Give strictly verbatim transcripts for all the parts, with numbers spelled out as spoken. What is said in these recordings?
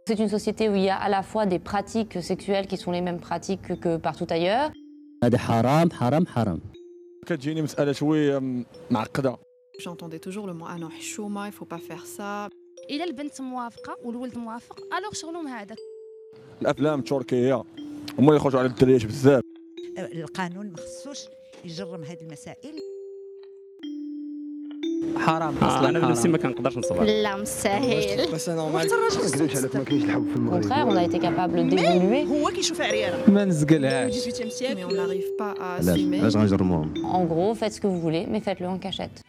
C'est une société où il y a à la fois des pratiques sexuelles qui sont les mêmes pratiques que partout ailleurs. هذا حرام حرام حرام. كتجيني مسألة شوية معقدة. J'entendais toujours le mot ah non حشومة, il faut pas faire ça. إلا البنت موافقة والولد موافق ألوغ شغلهم هذا. الأفلام التركية هما يخرجوا على الدريات بزاف. القانون مخصوش يجرم هذه المسائل. حرام اصلا انا بنفسي ما كنقدرش نصبر. لا مستحيل. بس انا ما كنكذبش عليك ما كاينش الحب في المغرب. Au contraire, on a été capable d'évoluer. هو كيشوف عريانه ما نزقلهاش. dix-huitième siècle, mais on n'arrive pas à assumer. علاش غنجرموهم؟ En gros, faites ce que vous voulez, mais faites-le en cachette.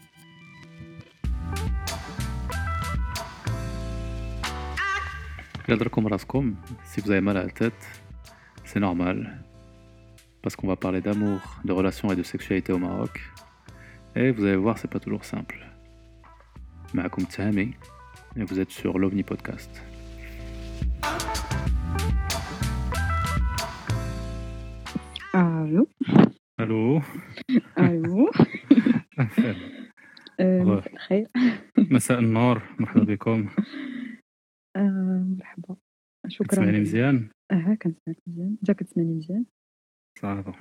Yadrekom raskom, si vous avez mal à la tête, c'est normal. Parce qu'on va parler d'amour, de relations et de sexualité au Maroc. Et vous allez voir, c'est pas toujours simple. Maakoum Tahami, et vous êtes sur l'OVNI Podcast. Allô. Allô. Allô. مساء الخير. مساء النور، مرحبا بكم. مرحبا. شكرا. كتسمعني مزيان؟ اه كنسمعك مزيان. انت كتسمعني مزيان؟ صافا.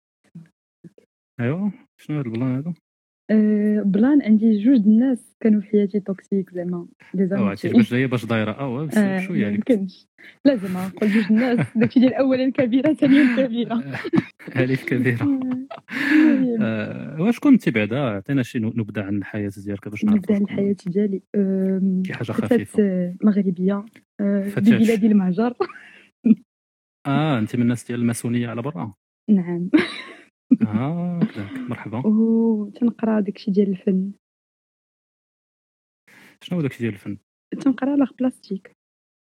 ايوا شنو هاد البلان هذا؟ أه بلان عندي جوج الناس كانوا في حياتي توكسيك زعما لي زعما. اه عرفتي باش جايه باش دايره اه بس آه شويه عليك. ممكنش لازم نقول جوج الناس داكشي ديال اولا كبيره ثانيا كبيره. الف كبيره. آه، واش كنتي بعدا عطينا شي نبذه عن الحياه ديالك باش نعرفوا نبدا عن الحياه ديالي. شي حاجه فتاة خفيفه. مغربيه أه فتاة. ببلاد المهجر. اه انت من الناس ديال الماسونيه على برا. نعم. اه كذاك مرحبا. وتنقرا داكشي ديال الفن. شنو هو داكشي ديال الفن؟ تنقرا لاغ بلاستيك.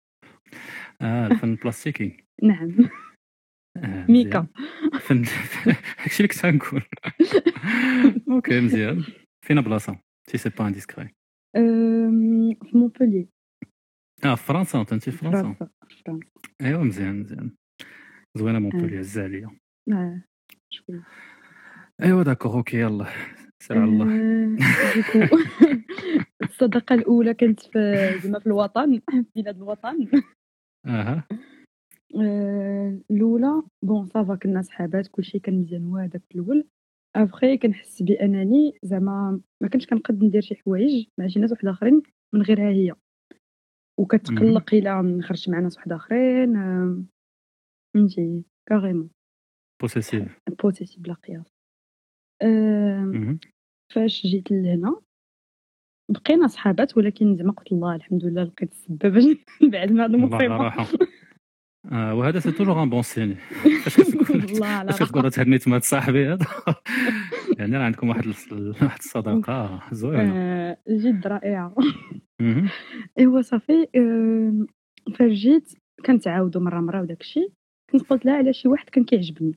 اه الفن البلاستيكي. نعم. آه ميكا. فن داكشي اللي كنت غنقول. اوكي مزيان. فين بلاصه سي سي با انديسكري؟ أم، في مونبوليي. اه في فرنسا انت في فرنسا. فرنسا. فرنسا. ايوا مزيان مزيان زوينه مونبوليي عز عليا. اه شويه. ايوا داكوغ اوكي يلا سير على الله. آه، ديكو الصداقه الاولى كانت في زعما في الوطن في بلاد الوطن. اها آه، الاولى بون صافا كنا صحابات كلشي كان مزيان وهذاك الاول. ابخي كنحس بانني زعما ما كنتش كنقد ندير شي حوايج مع شي ناس واحد اخرين من غيرها هي، وكتقلق الا نخرج مع ناس واحد اخرين. آه، فهمتي كاريمون بوسيسيف. بوتيسي بلا قياس. آه، مهم. فاش جيت لهنا بقينا صحابات، ولكن زعما قلت الله الحمد لله لقيت السبب باش بعد ما هاد الله المصيبه. على راحه. آه وهذا سي توجور ان بون سين. فاش كتقول الله على فاش كتقول راحه. تهنيت مع صاحبي هذا يعني راه عندكم واحد الص- واحد الصداقه زوينه. آه، جد رائعه. مهم. ايوا صافي. آه، فاش جيت كنتعاودوا مره مره وداكشي كنت قلت لها على شي واحد كان كيعجبني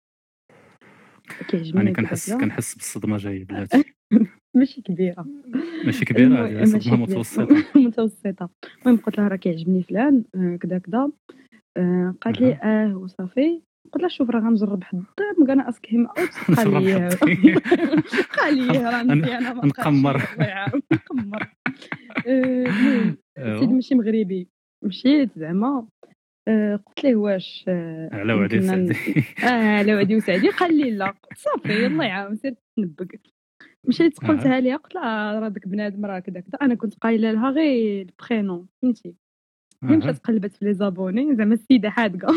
كيعجبني يعني هكذا كنحس كذا. كنحس بالصدمه جايه بلاتي. ماشي كبيره. ماشي كبيره المهم- هذه ماشي صدمه كبيرة. متوسطه. متوسطه. المهم قلت لها راه كيعجبني فلان آه، كذا كذا. آه، قالت لي اه وصافي. قلت لها شوف راه غنجرب حد الطيب كان اسك هيم اوت. قال نجرب لي حد. قال لي راه مزيانه ما بقاش نقمر. الله يعاون نقمر. آه، المهم أيوة. سيد ماشي مغربي. مشيت زعما آه، قلت ليه واش آه، على وعدي يمكننا ن- سعدي. اه على وعدي وسعدي. قال لي لا. قلت صافي الله يعاون سير تنبق. مشيت قلتها ليها قلت لها راه داك بنادم راه كذا كذا. انا كنت قايله لها غير البرينون فهمتي. هي مشات قلبت في لي زابوني زعما السيده حادقه.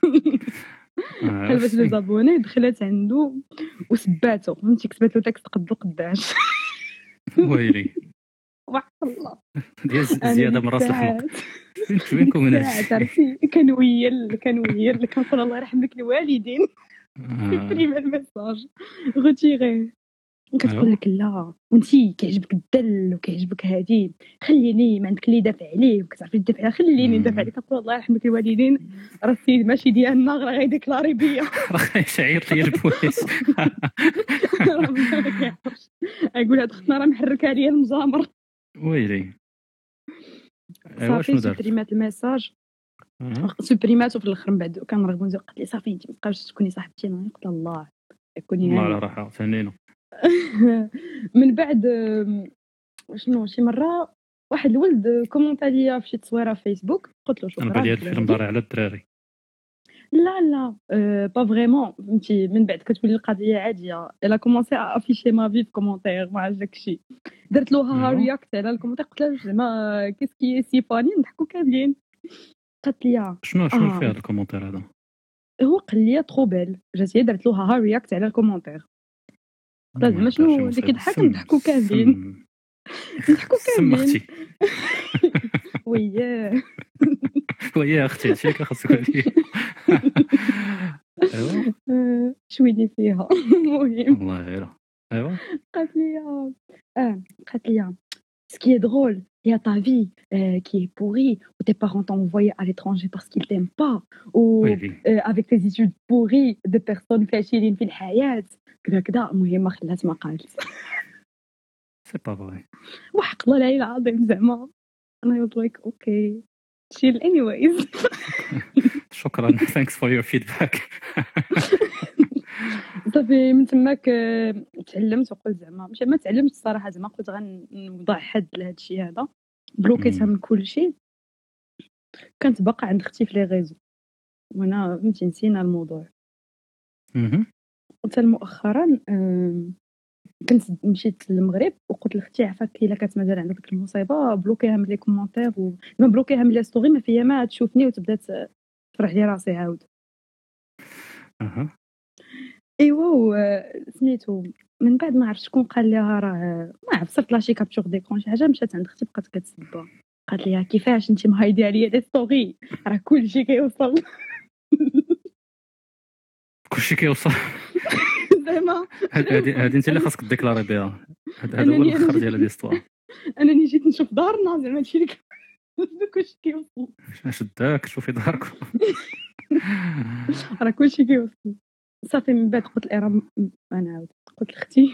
قلبت لي زابوني دخلت عنده وسباتو فهمتي. كتبت له تكست قد القداش. ويلي وحق الله ديال زياده من راس الحلق. فين فينكم من هادشي عرفتي. كنويل كنويل كنقول الله يرحم لك الوالدين. سيبريمي الميساج غوتيغي. كتقول لك لا وانتي كيعجبك الدل وكيعجبك هادي خليني ما عندك اللي يدافع عليه وكتعرفي تدافع خليني ندافع عليك. كنقول الله يرحم لك الوالدين راه السيد ماشي ديالنا راه غيديكلاري بيا. راه شعير لي البوليس. راه ما كيعرفش. يقول هاد اختنا راه محركه عليا المجامر. ويلي ايوا شنو صافي دارت؟ سوبريمات الميساج. أها. سوبريماتو في الاخر من بعد كنرغبو نزيد. قالت لي صافي انت مابقاش تكوني صاحبتي. انا قلت الله كوني الله على هانيه. راحه ثانينا. من بعد آم، شنو شي مره واحد الولد كومونتا ليا في شي تصويره في فيسبوك، قلت له انا شكرا. بالي هاد الفيلم دار على الدراري. لا لا أه با فريمون، فهمتي من بعد كتولي القضيه عاديه. الا كومونسي افيشي ما في كومونتير ما عرفت داكشي، درت له ها رياكت على الكومونتير، قلت له زعما كيسكي سي فاني نضحكوا كاملين. قالت لي شنو شنو آه. فيه هاد الكومونتير هذا؟ هو قال لي ترو بيل، جات هي درت له ها رياكت على الكومونتير. قلت زعما شنو اللي كيضحك نضحكوا كاملين نضحكوا سم كاملين. اختي وياه ويا اختي هادشي اللي خاصك تقولي. ايوا آه، شويني فيها. المهم والله غير ايوا قالت لي اه قالت لي ce qui est drôle, il y a ta vie euh, qui est pourrie, où tes parents t'ont envoyé à l'étranger parce qu'ils t'aiment pas, ou ويلي euh, avec tes études pourries de personnes فاشلين في الحياة كذا كذا. المهم خلات ما قالت. سي با فري. وحق الله العلي العظيم زعما انا was like اوكي chill anyways. شكرا thanks for your feedback. صافي من تماك آه، تعلمت وقلت زعما ماشي ما تعلمت الصراحه، زعما قلت غنوضع حد لهذا الشيء هذا، بلوكيتها مم. من كل شيء. كانت باقا عند اختي في لي ريزو وانا فهمتي نسينا الموضوع. مهم. حتى مؤخرا آم، كنت مشيت للمغرب وقلت لاختي عفاك الا كانت مازال عندك ديك المصيبه بلوكيها من لي كومونتير و ما بلوكيها من لي ستوري، ما فيا ما تشوفني وتبدا تفرح لي راسي عاود. اها ايوا و- سميتو من بعد ما عرفت شكون قال لها راه ما عرفت صرت لاشي كابتور ديكرون شي حاجه، مشات عند اختي بقات كتسبها. قالت لي كيفاش انت مهايدي عليا دي ستوري راه كلشي كيوصل. كلشي كيوصل. زعما هذه هذه انت اللي خاصك تديكلاري بها. هذا هذا هو أنني- الاخر ديال ليستوار. انني جيت نشوف دارنا زعما هادشي اللي كلشي كيوصل، شداك شوفي داركم. راه كلشي كيوصل. صافي من بعد قلت لها انا عاود قلت لاختي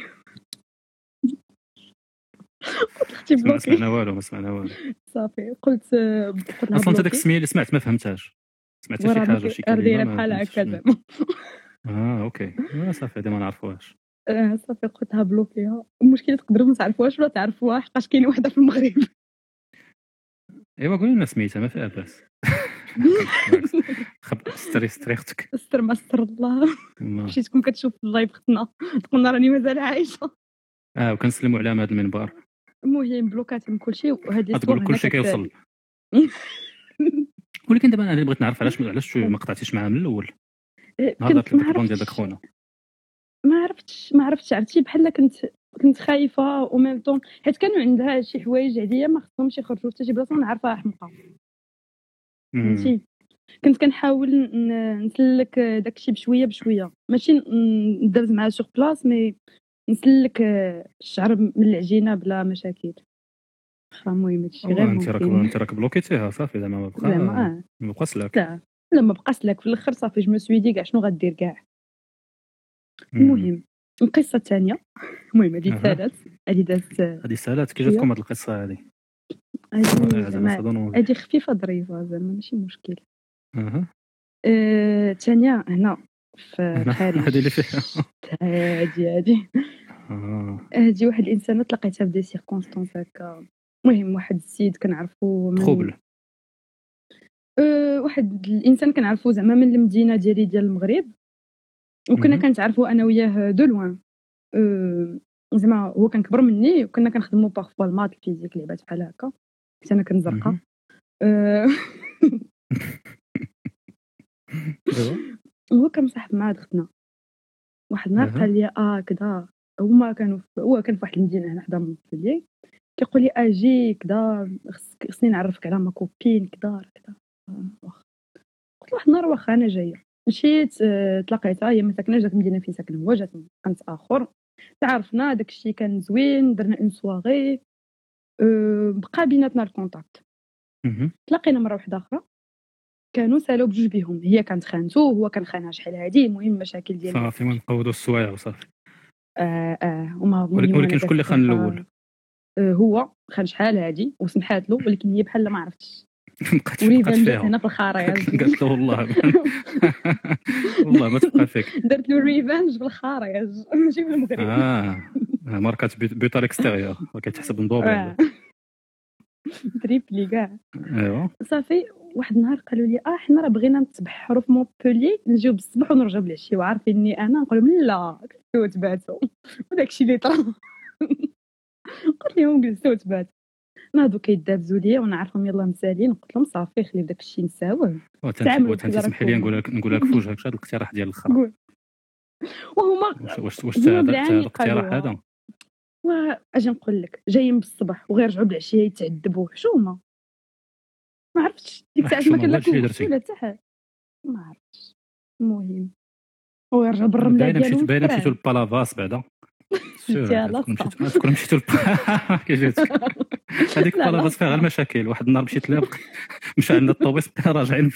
قلت لاختي ما بلوكي. سمعنا والو ما سمعنا والو. صافي قلت قلت لها اصلا انت داك بلوكي. السميه اللي سمعت ما فهمتهاش. سمعتي شي وراه حاجه شي راه دايره كلمه بحال ما هكا فهمتش. زعما. اه اوكي آه، صافي هذه ما نعرفوهاش. آه، صافي قلت لها بلوكيها. المشكله تقدروا ما تعرفوهاش ولا تعرفوها حقاش كاينه وحده في المغرب. ايوا قولي لنا سميتها ما فيها باس. خب ستري ستري اختك. استر ما استر الله. والله. مشيت تكون كتشوف اللايف اختنا تقولنا راني مازال عايشه. اه وكنسلموا عليها من هذا المنبر. المهم بلوكات من كل شيء وهاد لي تقول كل شيء كيوصل. ولكن دابا انا بغيت نعرف علاش علاش ما قطعتيش معها من الاول. نهار كنت درت ما البون ديال عرفتش داك خونا. ما عرفتش ما عرفتش عرفتي بحال كنت كنت خايفه و ميم طون حيت كانوا عندها شي حوايج عليا ما خصهمش يخرجوا حتى شي بلاصه ونعرفها حمقى مم. فهمتي. كنت كنحاول ن- نسلك داكشي بشويه بشويه، ماشي ن- ندرز معها سوغ بلاص مي نسلك الشعر من العجينه بلا مشاكل. خا المهم هادشي غير انت راك ممكن انت راك بلوكيتيها صافي زعما ما بقى زعما اه ما بقى سلاك. لا لا ما بقاش لك في الاخر صافي جو مو سوي دي كاع شنو غدير كاع. مم. المهم القصه الثانيه المهم هذه أها. ثالث هذه دازت هذه سالات كي جاتكم هذه القصه هذه؟ هذه زعما زعما تظنوا هذه خفيفه ظريفه زعما ماشي مشكل. اها آه، الثانيه هنا في هنا، الخارج هذه اللي فيها. هادي هادي اه هادي واحد الانسانه تلاقيتها في دي سيركونستانس هكا. المهم واحد السيد كنعرفو من تروبل. أه واحد الانسان كنعرفو زعما من المدينه ديالي ديال المغرب، وكنا مهم. كنتعرفو انا وياه دو لوان. أه زعما هو كان كبر مني وكنا كنخدمو بارفوا المات الفيزيك لعبات بحال هكا، كنت انا كنزرقا. مهم. أه ايوا هو كان مصاحب مع اختنا. واحد النهار أها. قال لي اه كذا هما كانوا في- هو كان في واحد المدينه هنا حدا مونبلييه، كيقول لي اجي كذا خصك خصني نعرفك على ما كوبين كذا كذا. آه، واخا. قلت له واحد النهار واخا انا جايه مشيت آه، تلاقيتها هي ما ساكناش داك المدينه فين ساكن هو، جات من كانت اخر تعرفنا داك الشيء كان زوين درنا اون سواغي أه بقى بيناتنا الكونتاكت. مهم. تلاقينا مره واحده اخرى كانوا سالوا بجوج بيهم، هي كانت خانته وهو كان خانها شحال هادي. المهم مشاكل ديال صافي ما نقودوا السوايع وصافي. اه اه وما ولكن ولكن شكون اللي خان الاول؟ آه هو خان شحال هادي وسمحات له، ولكن هي بحال ما عرفتش. بقات وريفان بقات جات فيها. هنا في الخرايج قالت له والله والله ما تبقى فيك. درت له ريفانج بالخرايج ماشي بالمغرب. اه ماركات بيوت الاكستيريور كتحسب نضوبه. آه. تريبلي كاع. ايوا صافي واحد النهار قالوا لي اه حنا راه بغينا نتبحروا في مونبولي نجيو بالصباح ونرجعوا بالعشيه وعارفيني انا نقول لهم لا جلسوا تباتوا وداكشي اللي طرا. قلت لهم جلسوا تباتوا ناضوا كيدابزوا ليا وانا عارفهم يلاه مسالين. قلت لهم صافي خليو داكشي نساوه. تعاملوا تسمح لي نقول لك نقول لك في وجهك هذا الاقتراح ديال الاخر. وهما واش واش هذا الاقتراح هذا واجي نقول لك جايين بالصباح وغيرجعوا بالعشيه يتعذبوا حشومه. ما عرفتش ديك الساعه ما كان لا كلشي ولا حتى حاجه ما عرفتش. المهم هو يرجع بالرمله ديالو باينه مشيتو للبالافاس بعدا كون مشيتو كيجيتك هذيك البالافاس فيها غير المشاكل. واحد النهار مشيت لها مشى عندنا الطوبيس بقينا راجعين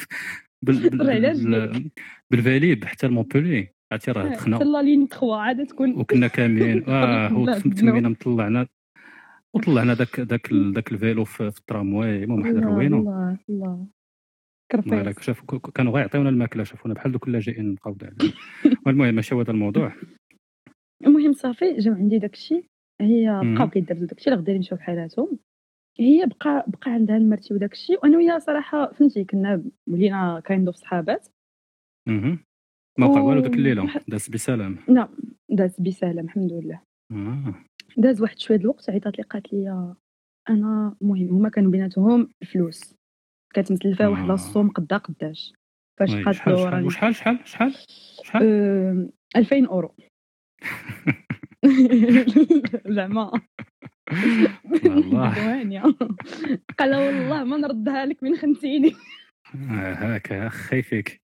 بالفاليب حتى لمونبولي عرفتي راه دخلنا حتى لا لين ثلاثة عاد تكون وكنا كاملين اه تمينا مطلعنا وطلعنا داك داك داك الفيلو في الترامواي. المهم واحد الروينه الله الله كرفيس شافوا كانوا غيعطيونا الماكله شافونا بحال دوك اللاجئين نبقاو عليهم. المهم ماشي هذا الموضوع. المهم صافي جاو عندي داكشي هي بقاو كيدابزوا داكشي اللي غادي يمشيو بحالاتهم. هي بقى بقى عندها المرتي وداكشي وانا وياها صراحه فهمتي كنا ولينا كاين في صحابات. اها ما وقع والو ديك الليله داز بسلام. لا داز بسلام الحمد لله. اه داز واحد شويه الوقت عيطات لي قالت لي انا المهم هما كانوا بيناتهم الفلوس كانت متلفه واحد لاصوم قدا قداش فاش قالت له راني شحال شحال شحال شحال أه... ألفين اورو. زعما والله قال والله ما نردها لك من خنتيني. هاكا خايفك.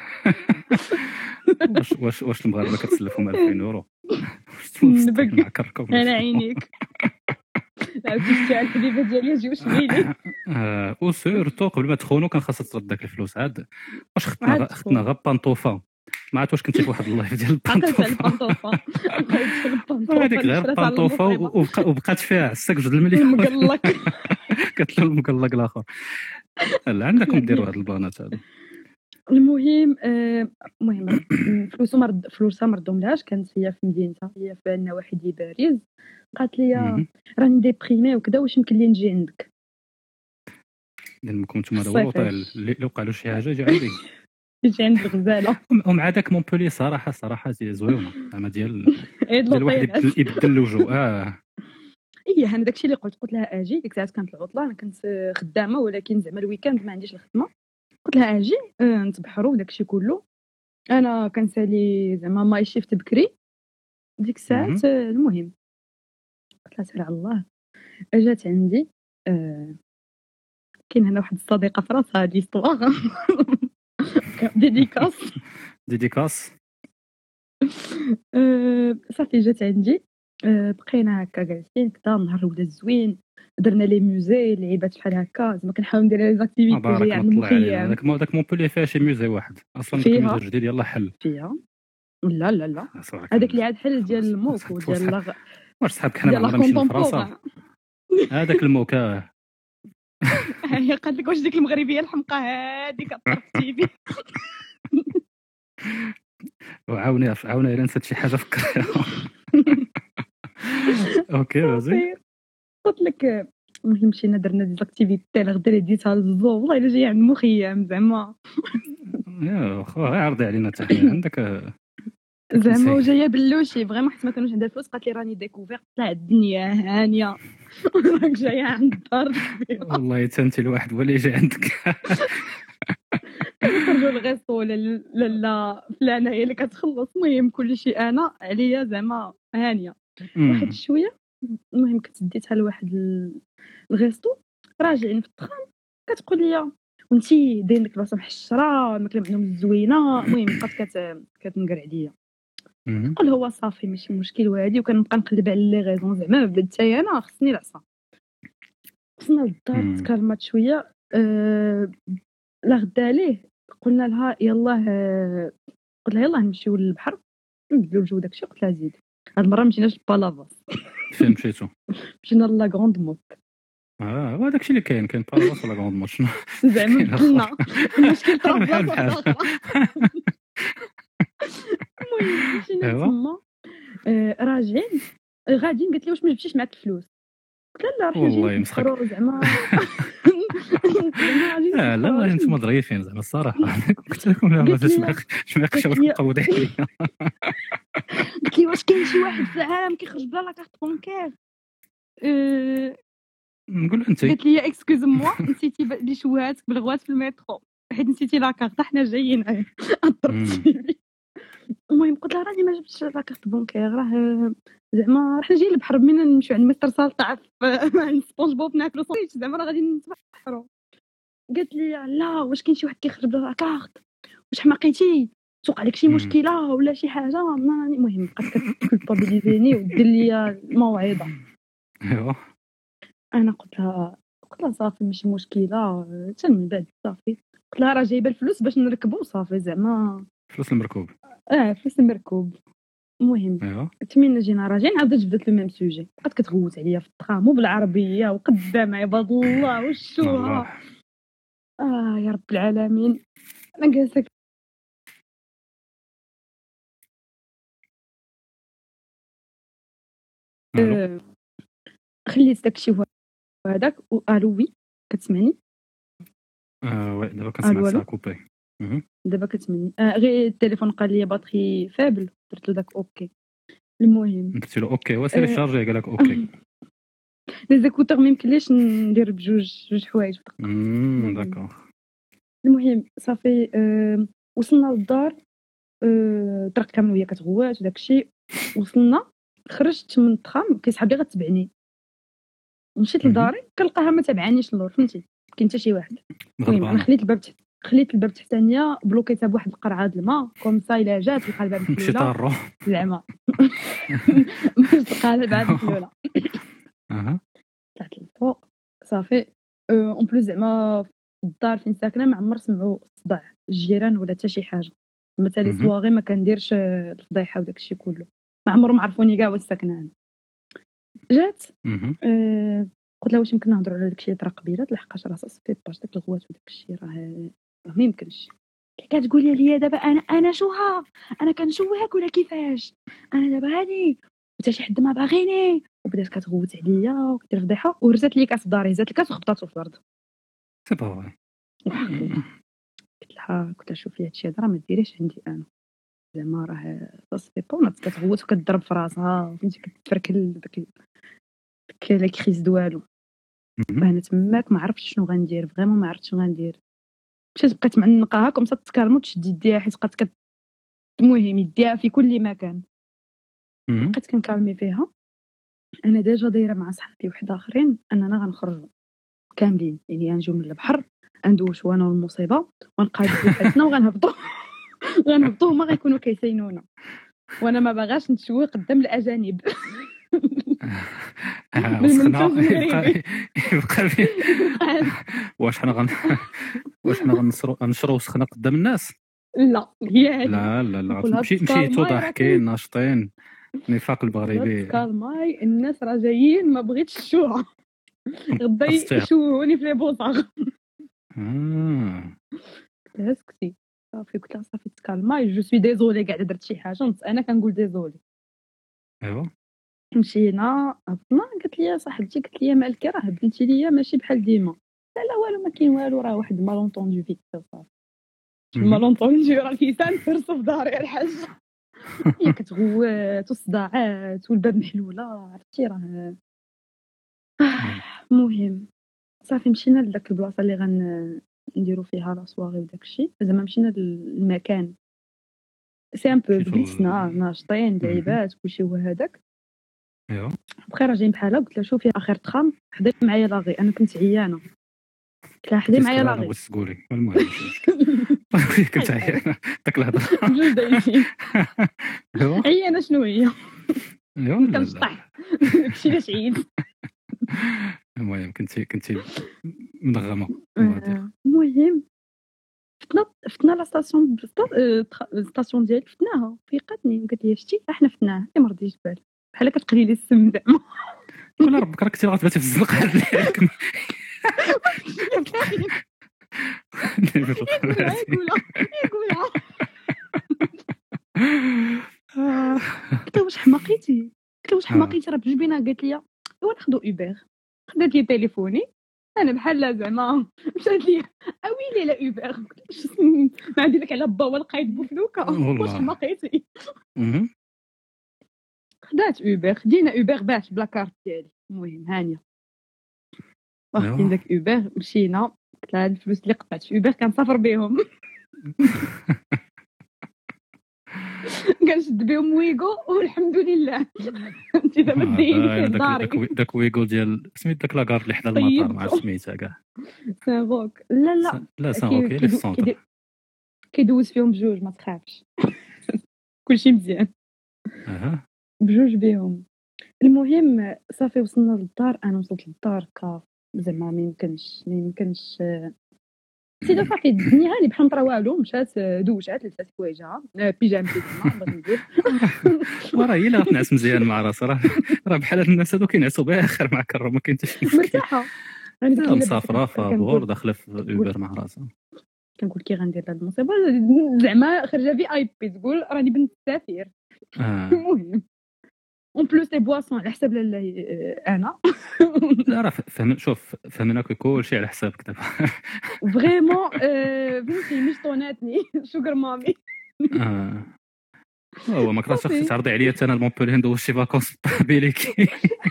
واش واش واش المغاربه كتسلفهم ألفين اورو نبك على عينيك. لا كنت الحبيبه ديالي جيو شميلي اه وسيرتو قبل ما تخونوا كان خاصها ترد داك الفلوس. عاد واش خدنا خدنا غا بانطوفا ما عرفت واش كنتي في واحد اللايف ديال البانطوفا هذيك غير بانطوفا وبقات فيها عساك جوج المليون مقلق. قالت له المقلق الاخر لا عندكم ديروا هاد البانات هادو. المهم المهم فلوسها مرد فلوسها ما ردهملهاش. كانت هي في مدينتها هي في النواحي ديال باريس. قالت لي راني ديبريمي وكذا واش يمكن لي نجي عندك. لان كنتم هذا هو الوطن اللي وقع له شي حاجه جا عندي يجي عند الغزاله. ومع داك مونبولي صراحه صراحه زويونه زعما ديال ديال واحد يبدل الوجه. اه ايه انا داكشي اللي قلت قلت لها اجي. ديك الساعه كانت العطله انا كنت خدامه ولكن زعما الويكاند ما عنديش الخدمه. قلت لها اجي اه نتبحروا وداكشي كله. انا كنسالي زعما ماي شيفت بكري ديك الساعه. المهم قلت لها سير على الله. اجات عندي آه كاين هنا واحد الصديقه في راسها هادي ستوار ديديكاس ديديكاس أه صافي جات عندي. أه بقينا هكا جالسين كدا نهار ودا زوين درنا لي موزي لعيبات بحال هكا زعما كنحاول ندير لي زاكتيفيتي ديال المخيم. داك داك مونبولي فيها شي موزي واحد اصلا داك الموزي الجديد يلاه حل فيها. لا لا لا هذاك اللي عاد حل ديال الموك وديال لا واش صحابك حنا ما نمشي لفرنسا هذاك الموكا. هي قالت لك واش ديك المغربيه الحمقى هذيك كطرفتي بي. وعاوني عاوني الا نسيت شي حاجه فكريها. اوكي وزي قلت لك المهم مشينا درنا دي زاكتيفيتي غدا ديتها للزو والله الا جايه عند مخيم زعما يا خو عرضي علينا حتى حنا عندك زعما وجايه بلوشي فريمون حيت ما كانوش عندها الفلوس. قالت لي راني ديكوفير طلع الدنيا هانيه راك جايه عند الدار والله حتى انت الواحد ولا جاي عندك. كنخرجوا للغيسطو ولا لا فلانه هي اللي كتخلص. المهم كلشي انا عليا زعما هانيه واحد شويه. المهم كنت ديتها لواحد الغيسطو راجعين في الطخام كتقول لي وانتي داير لك راسها محشره الماكله عندهم زوينه. المهم بقات كت كتنقر عليا. نقول هو صافي ماشي مشكل وهادي وكنبقى نقلب على لي غيزون زعما بدات حتى انا خصني العصا. وصلنا للدار تكلمات شويه أه... لا غدا ليه قلنا لها يلاه أه... قلت لها يلاه نمشيو للبحر نبدلو الجو داكشي. قلت لها زيد هاد المره مشيناش لبالافاس. فين مشيتو؟ مشينا لا غروند موت. اه هو داكشي اللي كاين كاين بالافاس ولا غروند موت شنو زعما بدلنا المشكل طرا المهم مشينا تما راجعين غاديين قالت لي واش ما جبتيش معاك الفلوس. قلت لها لا راه والله حاجه يمسخك. نسخرو زعما لا لا والله انتم ظريفين زعما الصراحه. قلت لكم لا ما قلت لي- فاش ما يخشاوش قلت لي- تقودي عليا. قلت لي واش كاين شي واحد في العالم كيخرج بلا لا كارت بونكير؟ أه، نقول له انت قالت لي اكسكوز موا نسيتي ب- اللي شوهاتك بالغوات في المترو حيت نسيتي لا كارت حنا جايين ضربتي. المهم قلت لها راني ما جبتش لا كارت بونكير راه زعما راه حنا جايين للبحر بينا نمشيو عند مستر سالطع في سبونج بوب ناكلو صويت زعما راه غادي نتبحروا. قالت لي لا واش كاين شي واحد كيخرج بلا لا كارت واش حماقيتي توقع عليك شي مم. مشكله ولا شي حاجه. ما- المهم بقات كتكولبابيليزيني ودير لي الموعظه. ايوا انا قلت لها قلت لها صافي ماشي مشكله حتى من بعد صافي قلت لها راه جايبه الفلوس باش نركبوا صافي زعما فلوس المركوب. اه فلوس المركوب. المهم ايوا تمين جينا راجعين عاودت جبدت لو ميم سوجي بقات كتغوت عليا في الترام وبالعربيه وقدام عباد الله وشوها. والله اه يا رب العالمين. انا جالسه الو آه، خليت داكشي هو هذاك والو وي كتسمعني آه، وي دابا الو كنسمعك الو ساعه كوبي. مهم. دابا كتسمعني آه غير التليفون قال لي باتري فابل درت له داك اوكي. المهم قلت له اوكي وسيري آه. شارجي قال لك اوكي. لي زيكوتور ما يمكنليش ندير بجوج جوج حوايج في دقة. امم داكور. المهم صافي آه وصلنا للدار آه الطريق كامل وهي كتغوات وداك الشيء. وصلنا خرجت من الترام كيسحب لي غتبعني مشيت مهم. لداري كنلقاها ما تابعانيش اللور فهمتي ما كاين حتى شي واحد. المهم انا غضبانه خليت الباب تحت خليت الباب تحتانيه بلوكيتها بواحد القرعه د الماء كوم سا الا جات تلقى الباب مشي محلوله طارو. زعما باش تلقى الباب محلوله. اها طلعت للفوق صافي اون بلوس زعما في الدار فين ساكنه ما عمر سمعوا صداع الجيران ولا حتى شي حاجه. مثلا مهم. سواغي ما كنديرش آه، الفضيحه وداك الشيء كله ما عمرهم عرفوني كاع واش ساكنه انا. جات مهم. آه، قلت لها واش يمكن نهضروا على داكشي اللي طرا قبيله لحقاش راه صافي باش داك الغوات وداك الشيء راه راه ما يمكنش. كتقولي لي دابا انا انا شوها انا كنشوهك ولا كيفاش انا دابا هاني حتى شي حد ما باغيني. وبدات كتغوت عليا وكدير فضيحه ورزات لي كاس في داري هزات الكاس وخبطاتو في الارض. سي با فري. قلت لها قلت لها شوفي هادشي هذا راه ما ديريش عندي انا زعما راه صافي بونات كتغوت وكتضرب في راسها فهمتي كتفركل داك ال- داك لا كريز دوالو. مهم. انا تماك ما عرفتش شنو غندير فريمون ما عرفتش شنو غندير. مشيت بقيت معنقاها كوم سا تكالمو تشد يديها حيت بقات كت المهم يديها في كل مكان. مهم. بقيت كنكالمي فيها انا ديجا دايره مع صحابي واحد اخرين اننا غنخرجوا كاملين يعني غنجيو من البحر غندوشوا انا والمصيبه ونقادوا حياتنا وغنهبطوا غنهبطوا هما غيكونوا كيسينونا وانا ما باغاش نتشوه قدام الاجانب. آه، بالمنتوب وسخنا المغربي. يبقى يبقى في واش حنا غن واش حنا غننشروا نشروا وسخنا قدام الناس. لا هي هذه لا لا لا نقولها مشي بسكالماي مشيتو راه ضاحكين ناشطين نفاق المغربي. كالماي الناس راه جايين ما بغيتش الشوهه غدا أستيعب. يشوهوني في لي بوطاغ. آه. سكتي صافي قلت لها صافي تكالماي جو سوي ديزولي كاع درت شي حاجه نص انا كنقول ديزولي. ايوا مشينا هبطنا قالت لي صاحبتي قالت لي مالك راه هبلتي ليا ماشي بحال ديما. لا لا والو ما كاين والو راه واحد مالونطوندو فيك صافي. مهم. المالونطوندو راه كيسان فرصه في داري الحاج. هي كتغوات والصداعات والباب محلوله عرفتي راه آه، المهم صافي مشينا لذاك البلاصه اللي غن نديرو فيها لا سواغي وداك الشيء زعما مشينا للمكان سي ان بو مشيتو بليسنا ل- ناشطين مهم. لعيبات كلشي هو هذاك. ايوا بخير راجعين بحالها قلت لها شوفي اخر تخام حضي معايا لاغي انا كنت عيانه قلت لها حضي معايا انا لاغي. بغيت تقولي المهم كنت عيان داك الهضره. بجوج دايزين ايوا عيانه شنو هي ايوا لا لا. كنشطح داكشي علاش عييت. المهم كنتي كنتي منغمه on va dire. آه، المهم فتنا فتنا لا ستاسيون ستاسيون ديالي فتناها فيقاتني قالت لي شتي احنا فتناها ما رضيتش بالي بحال كتقلي لي السم زعما. كل ربك راك كنتي غتباتي في الزنقه عليك. يقولها يقولها يقولها قلت لها واش حماقيتي قلت لها واش حماقيتي راه بجوج بينا قالت لي ايوا ناخذوا اوبر خدات لي تليفوني انا بحال زعما مشات لي اويلي لا اوبر ما عندي لك على با ولقيت بوفلوكا واش حماقيتي خدات اوبر خدينا اوبر باش بلا كارت ديالي المهم هانيه واخدين داك اوبر مشينا قلت لها هاد الفلوس اللي قطعت في اوبر كنسافر بهم كنشد بهم ويغو والحمد لله انت دابا داير في داري داك ويغو ديال سميت داك لاكارد اللي حدا المطار مع سميتها كاع سانغوك لا لا لا سانغوك اللي في السونتر كيدوز فيهم بجوج ما تخافش كلشي مزيان اها بجوج بهم المهم صافي وصلنا للدار انا وصلت للدار كا زعما ما يمكنش ما يمكنش سيدا صافي الدنيا هاني بحال مطرا والو مشات دوشات لبسات حوايجها بيجامتي زعما بغيت ندير وراه هي اللي غتنعس مزيان مع راسها راه راه بحال هاد الناس هادو كينعسوا باخر مع كره ما كاين حتى شي مشكل مرتاحه انا مسافره فابور داخله في اوبر مع راسها كنقول كي غندير هاد المصيبه زعما خرجه في اي بي تقول راني بنت السفير المهم اون بلوس لي بواسون على حساب لاله انا لا راه فهم شوف فهمنا كلشي على حسابك دابا فريمون فهمتي مش طوناتني شكر مامي اه هو ما كرهتش اختي تعرضي عليا حتى انا المونبولي ندوز شي فاكونس بيليكي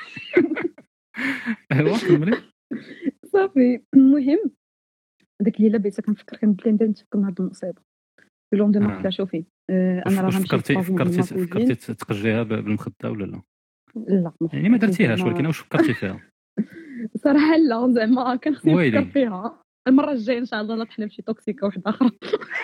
ايوا كملي صافي المهم داك الليله بقيت كنفكر كنبدا نبدا نتفكر من هاد المصيبه لوندوما قلت لها شوفي انا راه غنمشي فكرتي فكرتي فكرتي تقجيها بالمخده ولا لا لا يعني ما درتيهاش ولكن واش فكرتي فيها صراحه لا زعما كان خصني نفكر فيها المره الجايه ان شاء الله لا طحنا بشي توكسيكه واحده اخرى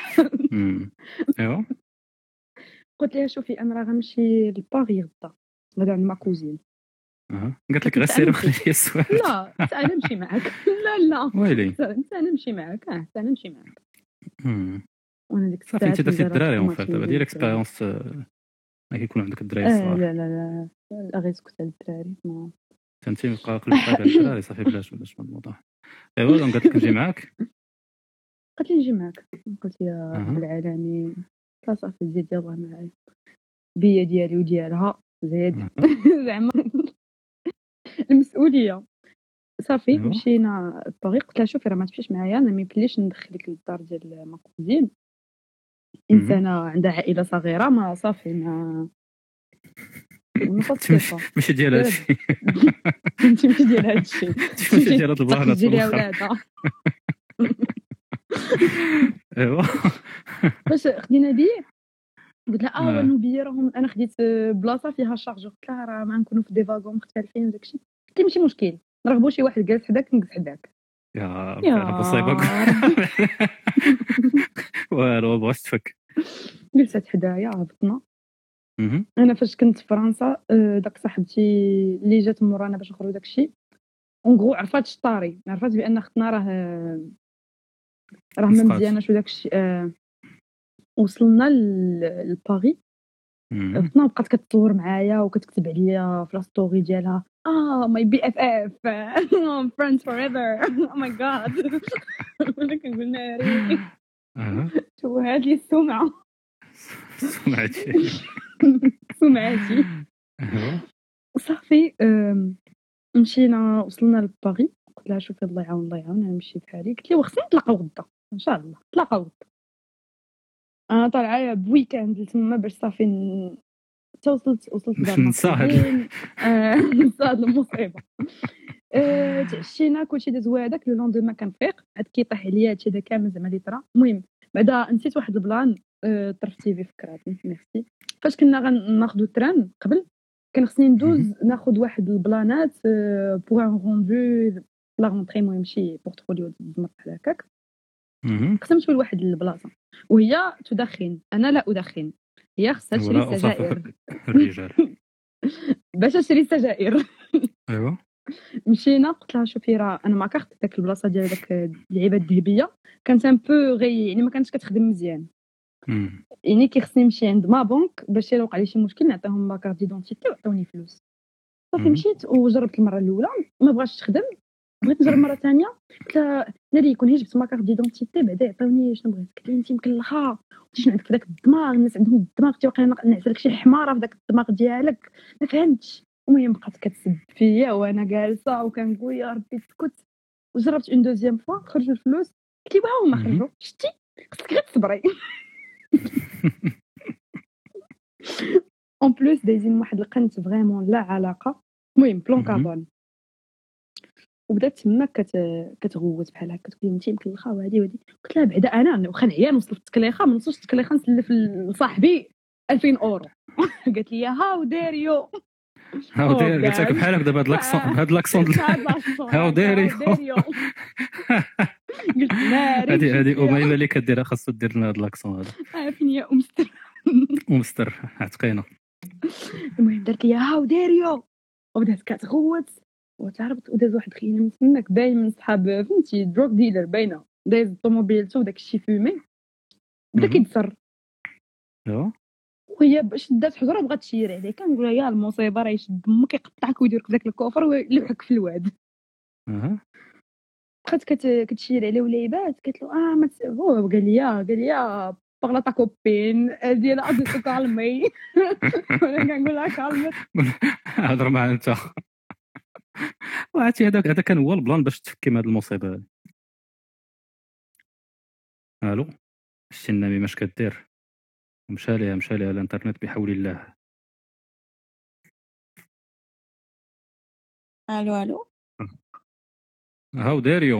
ايوا قلت لها شوفي انا راه غنمشي لباري غدا غدا عند ما كوزين اها قالت لك غير سير وخلي لي السؤال لا انا نمشي معاك لا لا ويلي انا نمشي معاك اه انا نمشي معاك وانا ديك الساعه صافي انت درتي الدراري اون فات دابا ديال اكسبيريونس ما كيكون عندك الدراري الصغار لا لا لا لا غير سكت على الدراري ما انت بقى قلبك على الدراري صافي بلاش بلاش من الموضوع ايوا قالت لك نجي معاك قلت لي نجي معاك قلت يا رب العالمين صافي زيد يلاه معايا بيا ديالي وديالها زيد زعما المسؤوليه صافي مشينا الطريق قلت لها شوفي راه ما تمشيش معايا انا ما يمكنليش ندخلك للدار ديال ماكوزين انسانه عندها عائله صغيره ما صافي ما ماشي ديال هادشي انت ماشي ديال هادشي ماشي ديال هاد البلانه ديال ولادها ايوا باش خدينا بيه قلت لها اه وانو بيه راهم انا خديت بلاصه فيها شارج قلت لها راه ما نكونوا في دي فاغون مختلفين وداكشي قلت لي ماشي مشكل نرغبوا شي واحد جالس حداك نجلس حداك يا ربي انا مصيبه والو بغات تفك جلست حدايا هبطنا انا فاش كنت في فرنسا داك صاحبتي اللي جات مورانا باش نخرجوا داكشي اون غرو عرفات الطاري عرفات بان اختنا راه راه ما مزياناش وداكشي أه وصلنا لباري هبطنا وبقات كتصور معايا وكتكتب عليا في لاستوري ديالها اه ماي بي اف اف فريندز فور ايفر او ماي جاد ولا كنقول ناري شو هاد لي السمعه سمعتي سمعتي صافي مشينا وصلنا لباري قلت لها شوفي الله يعاون الله يعاون انا نمشي بحالي قلت لي وخصنا نتلاقاو غدا ان شاء الله نتلاقاو غدا انا طالعه بويكاند لتما باش صافي حتى وصلت وصلت باش ننسى هاد المصيبه تعشينا كلشي داز هذاك لو لوندوما كنفيق عاد كيطيح عليا هادشي هذا كامل زعما لي طرا المهم بعدا نسيت واحد البلان طرفتي في فكراتي ميرسي فاش كنا غناخذوا التران قبل كان خصني ندوز ناخذ واحد البلانات بوغ ان روندو لا رونطري المهم شي بورتفوليو ديال بحال هكاك خصنا نمشيو لواحد البلاصه وهي تدخن انا لا ادخن هي خصها تشري السجائر الرجال باش تشري السجائر ايوا مشينا قلت لها شوفي راه انا ما كرهت داك البلاصه ديال داك اللعيبه الذهبيه كانت ان بو غي يعني ما كانتش كتخدم مزيان يعني كي خصني نمشي عند ما بنك باش الا وقع لي شي مشكل نعطيهم لا كارت ديدونتيتي وعطوني فلوس صافي مشيت وجربت المره الاولى ما بغاش تخدم بغيت نجرب مره ثانيه قلت لها ناري يكون هي جبت ما كارت ديدونتيتي بعدا عطوني شنو بغيت قالت لي انت مكلخه شنو عندك داك الدماغ الناس عندهم الدماغ تيوقع نعس لك شي حماره في داك الدماغ ديالك ما فهمتش المهم بقات كتسب فيا وانا جالسه وكنقول يا ربي تسكت. وجربت اون دوزيام فوا خرجوا الفلوس قلت لي واو ما خرجوا شتي خصك غير تصبري. اون بلوس دايزين واحد القنت فريمون لا علاقه. المهم بلون كابون وبدات تما كت كتغوت بحال هكا تقول انت مكلخه وهادي وهادي. قلت لها بعدا انا واخا نعيا نوصل في التكليخه ما نوصلش التكليخه نسلف لصاحبي ألفين اورو. قالت لي هاو ديريو هاو دير قلت لك بحالك دابا هاد لاكسون هاد لاكسون هاو ديريو. قلت ناري هادي هادي اميمه اللي كديرها خاصو دير لنا هاد لاكسون هذا. عارفين يا امستر ومستر عتقينا. المهم درت لي هاو ديريو وبدات كتغوت وتعرفت وداز واحد خينا من تماك باين من صحاب فهمتي دروك ديلر باينه دايز الطوموبيلتو وداك الشيء فيمي بدا كيتسر. ايوا وهي باش دات حجره بغات تشير عليه كنقول لها يا المصيبه راه يشد دمك يقطعك ويديرك في داك الكوفر ويلوحك في الواد. اها بقات كت... كتشير عليه وليبات قالت له اه ما هو قال لي قال لي باغلا تا كوبين ديال ادو كالمي. وانا كنقول لها كالمت هضر معاه انت. وعرفتي هذاك هذا كان هو البلان باش تفكي من هذه المصيبه هذه. الو شتي النميمه اش كدير مشى ليها مشى ليها الانترنت بحول الله. الو الو هاو ديريو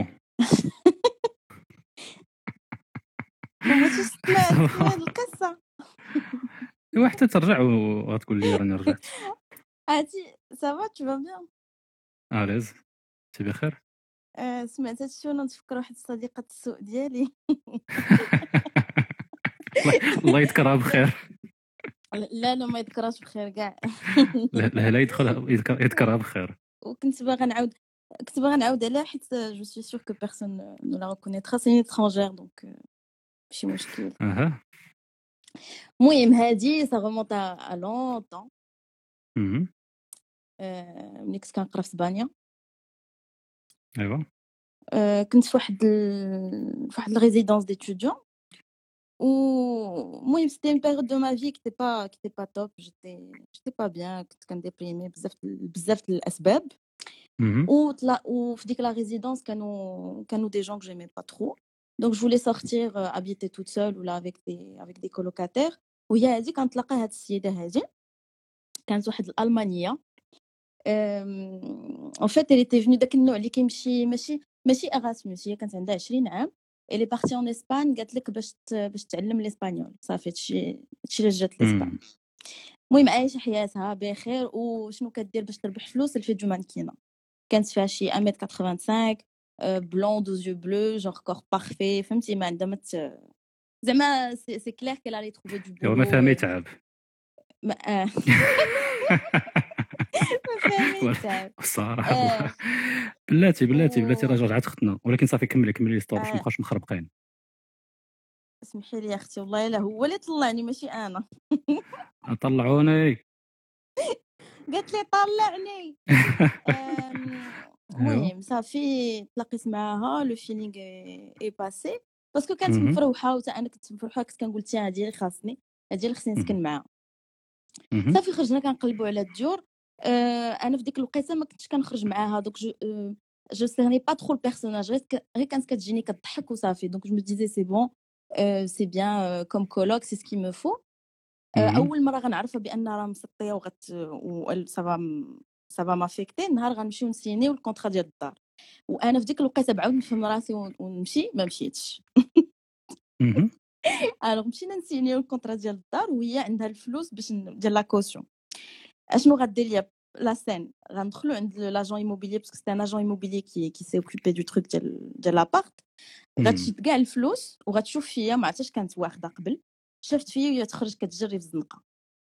ما سمعت هاد القصه. ايوا حتى ترجع وغتقول لي راني رجعت. عادي سافا تو فا بيان اليز انت بخير. آه سمعت هادشي وانا نتفكر واحد صديقه السوء ديالي. الله يذكرها بخير. لا لا ما يذكرهاش بخير كاع. لا لا يدخل يذكرها بخير. وكنت باغا نعاود كنت باغا نعاود عليها حيت جو سوي سور كو بيرسون نو لا ريكونيترا سي étrangère دونك ماشي مشكل. اها المهم هادي سا غومونط ا لونطون. اها ملي كنت كنقرا في اسبانيا. ايوا كنت في واحد ال... في واحد الريزيدونس ديتوديون. المهم سيتي اون بيريود دو ما في كي تي با كي تي با توب جيتي جيتي با بيان كنت كنديبريمي بزاف بزاف الاسباب. وطلع وفي ديك لا ريزيدونس كانوا كانوا دي جون que j'aimais pas trop donc je voulais sortir euh, habiter toute seule ou là avec des avec des colocataires. وهي هذه كنتلاقى هاد السيده هذه كانت واحد الالمانيه. ان فيت elle était venue داك النوع اللي كيمشي ماشي ماشي اغاسموس. هي كانت عندها عشرين عام اللي بارتي اون اسبان قالت لك باش باش تعلم الاسبانيول صافي هادشي هادشي اللي جات لاسبان. المهم عايشه حياتها بخير. وشنو كدير باش تربح فلوس الفيديو مانكينه كانت فيها شي واحد متر وخمسين وثمانين بلون دوز يو بلو جونغ كور بارفي فهمتي ما عندها مت زعما سي سي كلير كيل علي تروفي دو بلو. ما فهمي تعب ما فهمي تعب الصراحه. بلاتي بلاتي بلاتي راه رجعت اختنا ولكن صافي كملي كملي الستور باش ما نبقاوش مخربقين. اسمحي لي اختي والله الا هو اللي طلعني ماشي انا. طلعوني قالت لي طلعني. المهم صافي تلاقيت معاها لو فيلينغ اي باسي باسكو كانت مفروحه وتا انا كنت مفروحه كنت كنقول تي هادي اللي خاصني هادي اللي خصني نسكن معاها. صافي خرجنا كنقلبوا على الديور. انا في ديك الوقيته ما كنتش كنخرج معاها دوك جو جو سيرني با ترو البيرسوناج غير كانت كتجيني كتضحك وصافي دونك جو مي ديزي سي بون سي بيان كوم كولوك سي سكي مو فو. اول مره غنعرفها بان راه مسطيه وغت و سافا سافا مافيكتي نهار غنمشيو نسينيو الكونطرا ديال الدار. وانا في ديك الوقيته بعاود نفهم راسي ونمشي ما مشيتش. الوغ مشينا نسينيو الكونطرا ديال الدار وهي عندها الفلوس باش ديال لا كوسيون. اشنو غدير ليا لا سين غندخلو عند لاجون ايموبيليير باسكو سي ان اجون ايموبيليير كي كي سي اوكوبي دو تروك ديال ديال لابارت. غتشد كاع الفلوس وغتشوف فيا ما عرفتش كانت واخده قبل شفت فيا وهي تخرج كتجري في الزنقه.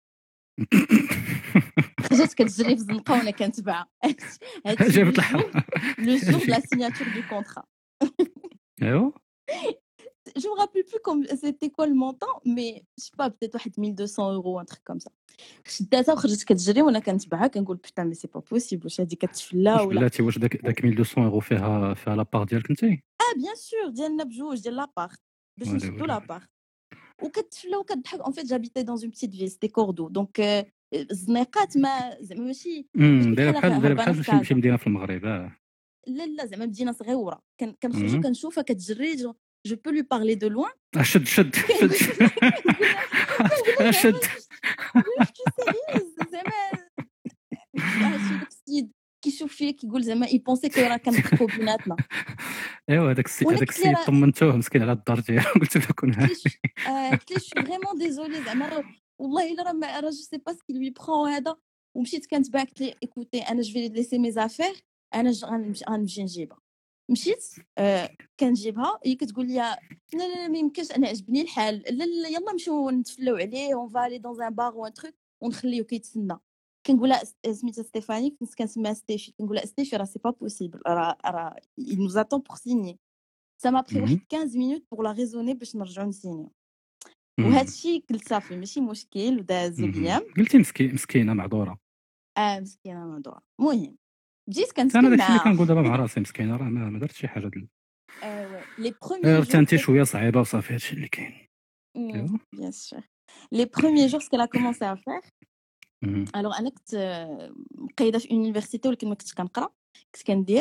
خرجت كتجري في الزنقه وانا كنتبعها. هادشي جابت الحرب لو جور لا سيناتور دو كونطرا. ايوا جو me rappelle plus comme c'était quoi le montant mais je sais pas peut-être واحد mille deux cents euros un truc comme ça. شداتها وخرجت كتجري وانا كنتبعها كنقول بوتان مي سي با بوسيبل واش هادي كتفلا ولا بلاتي واش داك داك mille deux cents euros فيها فيها لابار ديالك انت؟ اه بيان سور ديالنا بجوج ديال لابارت باش نشدو لابارت وكتفلا وكتضحك. en fait j'habitais dans une petite ville c'était Cordoue donc الزنيقات ما زعما ماشي امم ماشي دايره بحال بحال دايره هربانه بحال في شي شي كازا. مدينه في المغرب. اه لا لا زعما مدينه صغيره كان كنخرجوا مم. كنشوفها كتجري جو جو بو لو بارلي دو لوين آه، شد شد شد كنقول كنقول لها آه، زعما شد واش tu sérieuse زعما هادشي داك السيد كيشوف فيا كيقول زعما يبونسي كو راه كنضحكوا بيناتنا ايوا هذاك السي وانا هذاك قلت ليه السيد راه طمنتوه مسكين على الدار ديالو قلت له كون قلت ليه هادي. ش- آه، قلت ليه شو فريمون ديزولي زعما راه- والله الا راه ما- راه جو سي با سكي لوي برون هذا ومشيت كنتباع قلت ليه ايكوتي انا جو في ليسي مي زافير انا ج- غنمشي غنمشي نجيبها مشيت آه كنجيبها هي كتقول لي لا لا لا ما يمكنش انا عجبني الحال لا لا يلا نمشيو نتفلاو عليه اون فالي دون ان بار وان تروك ونخليو كيتسنى كنقول لها سميتها ستيفاني كنت كنسميها ستيفي كنقول لها ستيفي راه سي با بوسيبل راه راه il nous attend pour signer ça m'a pris مم. واحد خمسطاش minutes pour la raisonner باش نرجعو نسينيو مم. وهذا الشيء قلت صافي ماشي مشكل ودازو مم. الايام قلتي مسكين مسكينه معذوره. اه مسكينه مهضوره المهم بديت انا كنسكن داكشي اللي معاها كنقول دابا مع راسي مسكينه راه ما ما درت شي حاجه دل... ايوا لي بروميي غير جور انت شويه صعيبه وصافي هادشي اللي كاين. ايوا bien sûr les premiers jours ce qu'elle a commencé à faire مم. alors انا كنت آه، مقيده في يونيفرسيتي ولكن ما كنتش كنقرا كنت كندير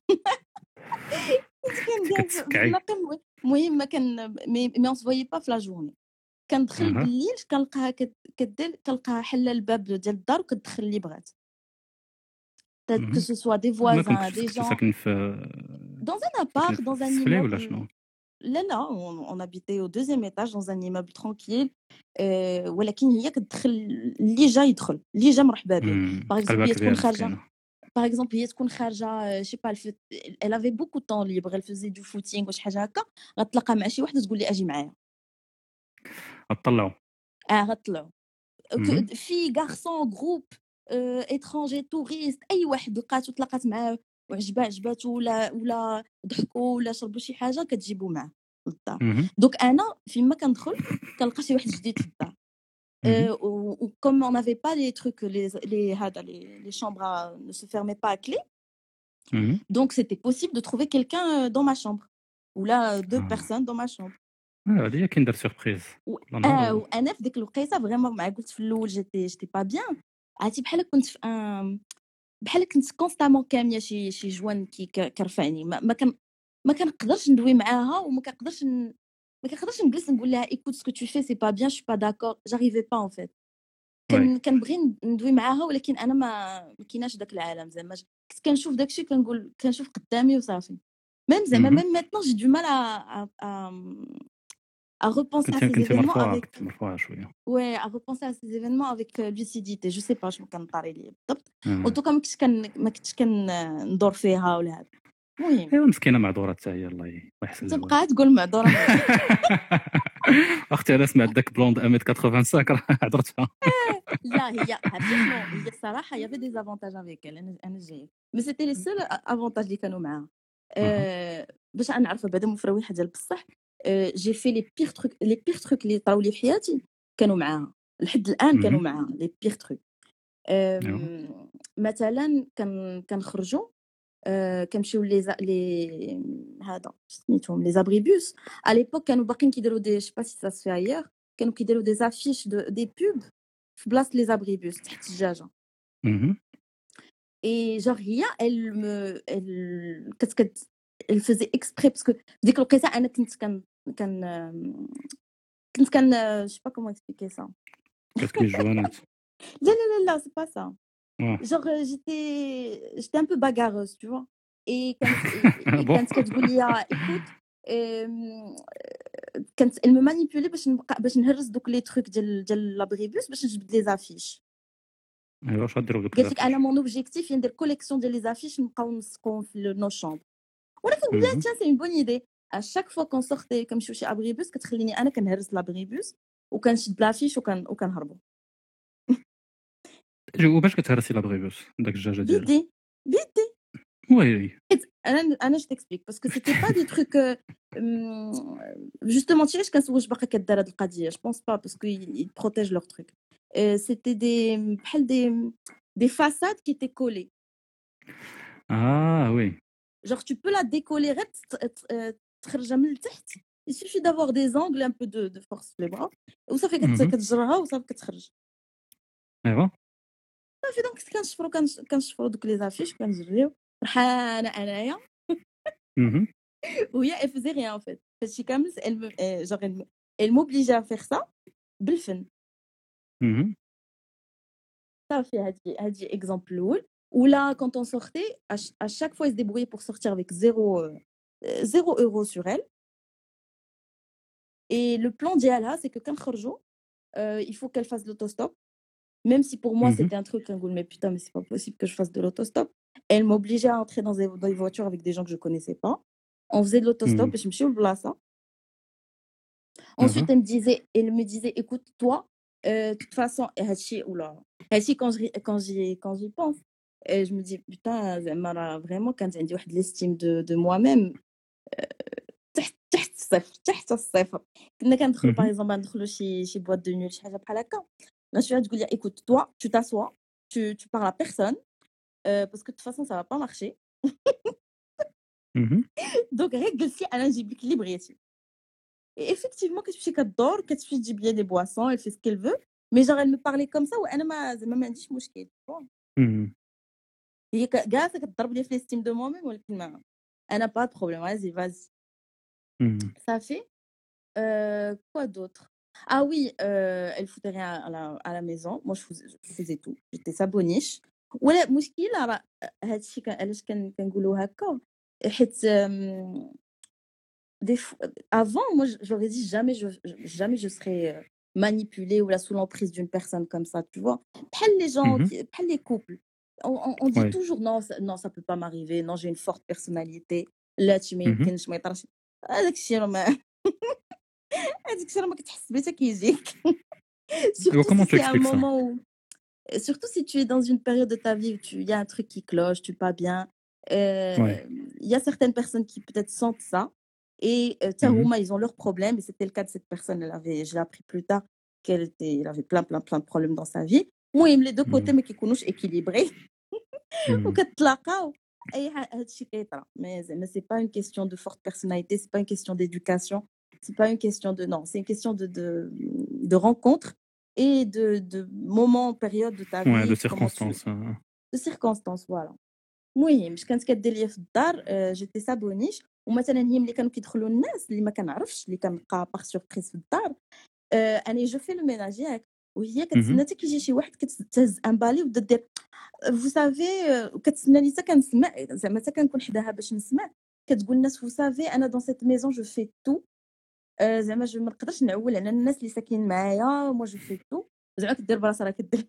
كنت كندير في- في كتسكعي. النقل المهم ما كان مي مي اون سويي با في لا جورني كندخل اها بالليل كنلقاها كت- كدير كنلقاها حله الباب ديال الدار وكتدخل اللي بغات que مم. ce soit des ما voisins كنت des كنت gens ساكن في dans un ساكن appart في dans un السفلي ولا immeuble شنو؟ لا لا on, on habitait au deuxième étage dans un immeuble tranquille euh, ولكن هي كتدخل اللي جا يدخل اللي جا مرحبا به مم. باغ اكزومبل قلبها هي تكون كبير خارجه مسكينه. باغ اكزومبل هي تكون خارجه شي با الف... elle avait beaucoup de temps libre elle faisait du footing وشي حاجه هكا غتلاقى مع شي وحده تقول لي اجي معايا غطلعوا. اه غطلعوا مم. في غارسون جروب اترونجي توريست اي واحد لقاتو تلاقات معاه وعجبها عجباتو ولا ولا ضحكوا ولا شربوا شي حاجه كتجيبو معاه للدار مم. دوك انا فيما كندخل كنلقى شي واحد جديد في الدار مم. ou comme on n'avait pas les trucs les les هذا les, les chambres à, ne se fermaient pas à clé مم. donc c'était possible de trouver quelqu'un euh, dans ma chambre ou là deux آه. personnes dans ma chambre آه، هادي هي كندير سوربريز و... كل نهار آه و- وانا في ديك الوقيته فريمون مع قلت في الاول جيتي جيتي با بيان عرفتي بحال كنت في ان بحال كنت كونستامون كاميه شي شي جوان كي ك- كرفعني ما, ما كان ما كنقدرش ندوي معاها وما كنقدرش ن... ما كنقدرش نجلس نقول لها écoute ce que tu fais c'est pas bien je suis pas d'accord j'arrivais pas en fait وي. كان كنبغي ندوي معاها ولكن انا ما ما كايناش داك العالم زعما ج- كنت كنشوف داكشي كنقول كنشوف قدامي وصافي ميم زعما مهم. ميم maintenant j'ai du mal à à à, à repenser à كنت ces كنت événements مرفوعه avec كنت مرفوعه شويه. ouais à repenser à ces événements avec euh, lucidité je sais pas شنو كان طاري لي بالضبط مم. en tout cas ما كنتش كن ما كنتش كندور فيها ولا هذا المهم ايوا مسكينه معذوره حتى هي الله ي- الله يحسن الزواج. تبقى تقول معذوره اختي انا سمعت داك بلوند واحد متر خمسة وثمانين راه هضرتها. لا هي عرفتي شنو هي الصراحه يافي دي زافونتاج افيك انا انا جايه مي سيتي لي سول افونتاج اللي كانوا معاها أه باش انا نعرفها بعدا مفروحه ديال بصح أه جي في لي بيغ تروك لي بيغ تروك اللي طراو لي في حياتي كانوا معاها لحد الان كانوا مهم. معاها لي بيغ تروك ايوا مثلا كان كنخرجوا أه كنمشيو لي زا- لي هذا سميتهم لي زابريبوس على ليبوك كانوا باقيين كيديروا دي شي با سي سا سفي ايور كانوا كيديروا دي زافيش دي بوب في بلاصه لي زابريبوس تحت الدجاجه مهم. اي جور هي ال me ال كت كت elle faisait exprès parce que ديك الوقيته انا كنت كان كان كنت كان je sais pas comment expliquer ça كتكلي الجوانات. لا لا لا لا c'est pas ça واه. genre j'étais j'étais un peu bagarreuse tu vois et كانت et بون. كانت كتقول لي écoute أم، كانت elle me manipulait باش نبقى باش نهرس دوك لي تروك ديال ديال لابريبوس باش نجبد لي زافيش ايوا واش غديروا بدوك قالت لك انا الزافيش؟ مون اوبجيكتيف هي ندير كوليكسيون ديال لي زافيش نبقاو نسقوهم في نو شومبر وانا كنقول لها مهم. تيان سي اون بون ايدي ا شاك فوا كون سورتي كنمشيو شي ابريبوس كتخليني انا كنهرس لابريبوس وكنشد لافيش وكن وكنهربوا وباش كتهرسي لابغيبوس داك الدجاجه ديالو؟ بيدي بيدي وي. حيت انا انا جو تكسبليك باسكو سيتي با دي تروك جوستومون تي علاش كنسول واش باقا كدار هاد القضيه جو بونس با باسكو يل بروتيج لور تروك سيتي دي بحال دي دي فاساد كي تي كولي اه وي. genre tu peux la décoller غير تت- ت- آه، تخرجها من التحت il suffit d'avoir des angles un peu de de force في les bras وصافي كت- مهم. كتجرها وصافي كتخرج ايوا صافي دونك كنشفرو كنش- كنشفرو دوك لي زافيش كنجريو فرحانه انايا مهم. وهي elle faisait rien en fait هادشي كامل elle me euh, genre elle me- elle m'obligeait à faire ça بالفن مهم. صافي هادي هادي اكزامبل الاول ولا quand on sortait à, ch- à chaque fois elle se débrouillait pour sortir avec zéro euh, euh, zéro euro sur elle et le plan ديالها c'est que كنخرجوا euh, il faut qu'elle fasse l'autostop même si pour moi مهم. c'était un truc un goût mais putain mais c'est pas possible que je fasse de l'autostop elle m'obligeait à entrer dans des, dans des voitures avec des gens que je connaissais pas on faisait de l'autostop مهم. باش نمشيو لبلاصه ensuite أها. elle me disait elle me disait écoute toi euh, de toute façon هادشي ولا هادشي quand je quand j'y quand j'y pense et je me dis putain زعما راه vraiment كانت عندي واحد l'estime de de moi-même تحت تحت الصفر تحت الصفر كنا كندخلوا باغ مهم. اكزومبل ندخلوا شي شي بواط دو نوت شي حاجه بحال هكا لا شويه تقول لي écoute toi tu t'assois tu tu parles à personne euh, parce que de toute façon ça va pas marcher مهم. donc غير جلسي انا نجيب لك اللي بغيتي et effectivement كتمشي كدور كتمشي تجيب لي دي بواسون elle fait ce qu'elle veut mais genre elle me parlait comme ça وانا ما زعما ما عنديش مشكل bon. مهم. هي ك- جالسه كتضرب لي في ليستيم دو مو ميم ولكن ما انا با de problème vas-y vas-y مهم. ça fait euh, quoi d'autre ah oui euh, elle foutait rien à la, à la maison moi je faisais, je faisais tout j'étais sa boniche ولا مشكله راه هادشي كان علاش كن- كنقولوا هكا حيت euh, des fois, avant moi je- j'aurais dit jamais je jamais je serais euh, manipulée ou là sous l'emprise d'une personne comme ça tu vois بحال les gens مهم. qui- بحال les couples on, on, on dit Ouais. toujours non ça, non ça peut pas m'arriver non j'ai une forte personnalité لا تي ما مهم. يمكنش ما يطرش هذاك الشيء راه ما هذاك الشيء راه ما كتحس به حتى كيجيك Et surtout comment si tu c'est un expliques ça? moment où surtout si tu es dans une période de ta vie où tu il y a un truc qui cloche tu pas bien euh, Ouais. il y a certaines personnes qui peut-être sentent ça et euh, تا مهم. هما ils ont leurs problèmes et c'était le cas de cette personne elle avait je l'ai appris plus tard qu'elle était elle avait plein plein plein de problèmes dans sa vie المهم les deux côtés مهم. ما كيكونوش équilibrés مهم. وكتلاقاو اي ح- هادشي كيطرا mais زعما c'est pas une question de forte personnalité c'est pas une question d'éducation c'est pas une question de non c'est une question de de de rencontre et de de moments période de ta Ouais, de vie comment tu circonstances. euh. de circonstances voilà المهم اش كانت كدير ليا في الدار آه، جيتي سابونيش ومثلا هي ملي كانوا كيدخلوا الناس اللي ما كنعرفش اللي كنبقى باغ سوربريز في الدار آه، انا جو في لو ميناج ياك وهي كتسنى مهم. حتى كيجي شي واحد كتهز ان بالي وتبدا دير فو سافي وكتسناني حتى كنسمع زعما حتى كنكون حداها باش نسمع كتقول الناس فو سافي انا دون سيت ميزون جو في تو زعما جو ما نقدرش نعول على الناس اللي ساكنين معايا مو جو في تو زعما كدير براسها راه كدير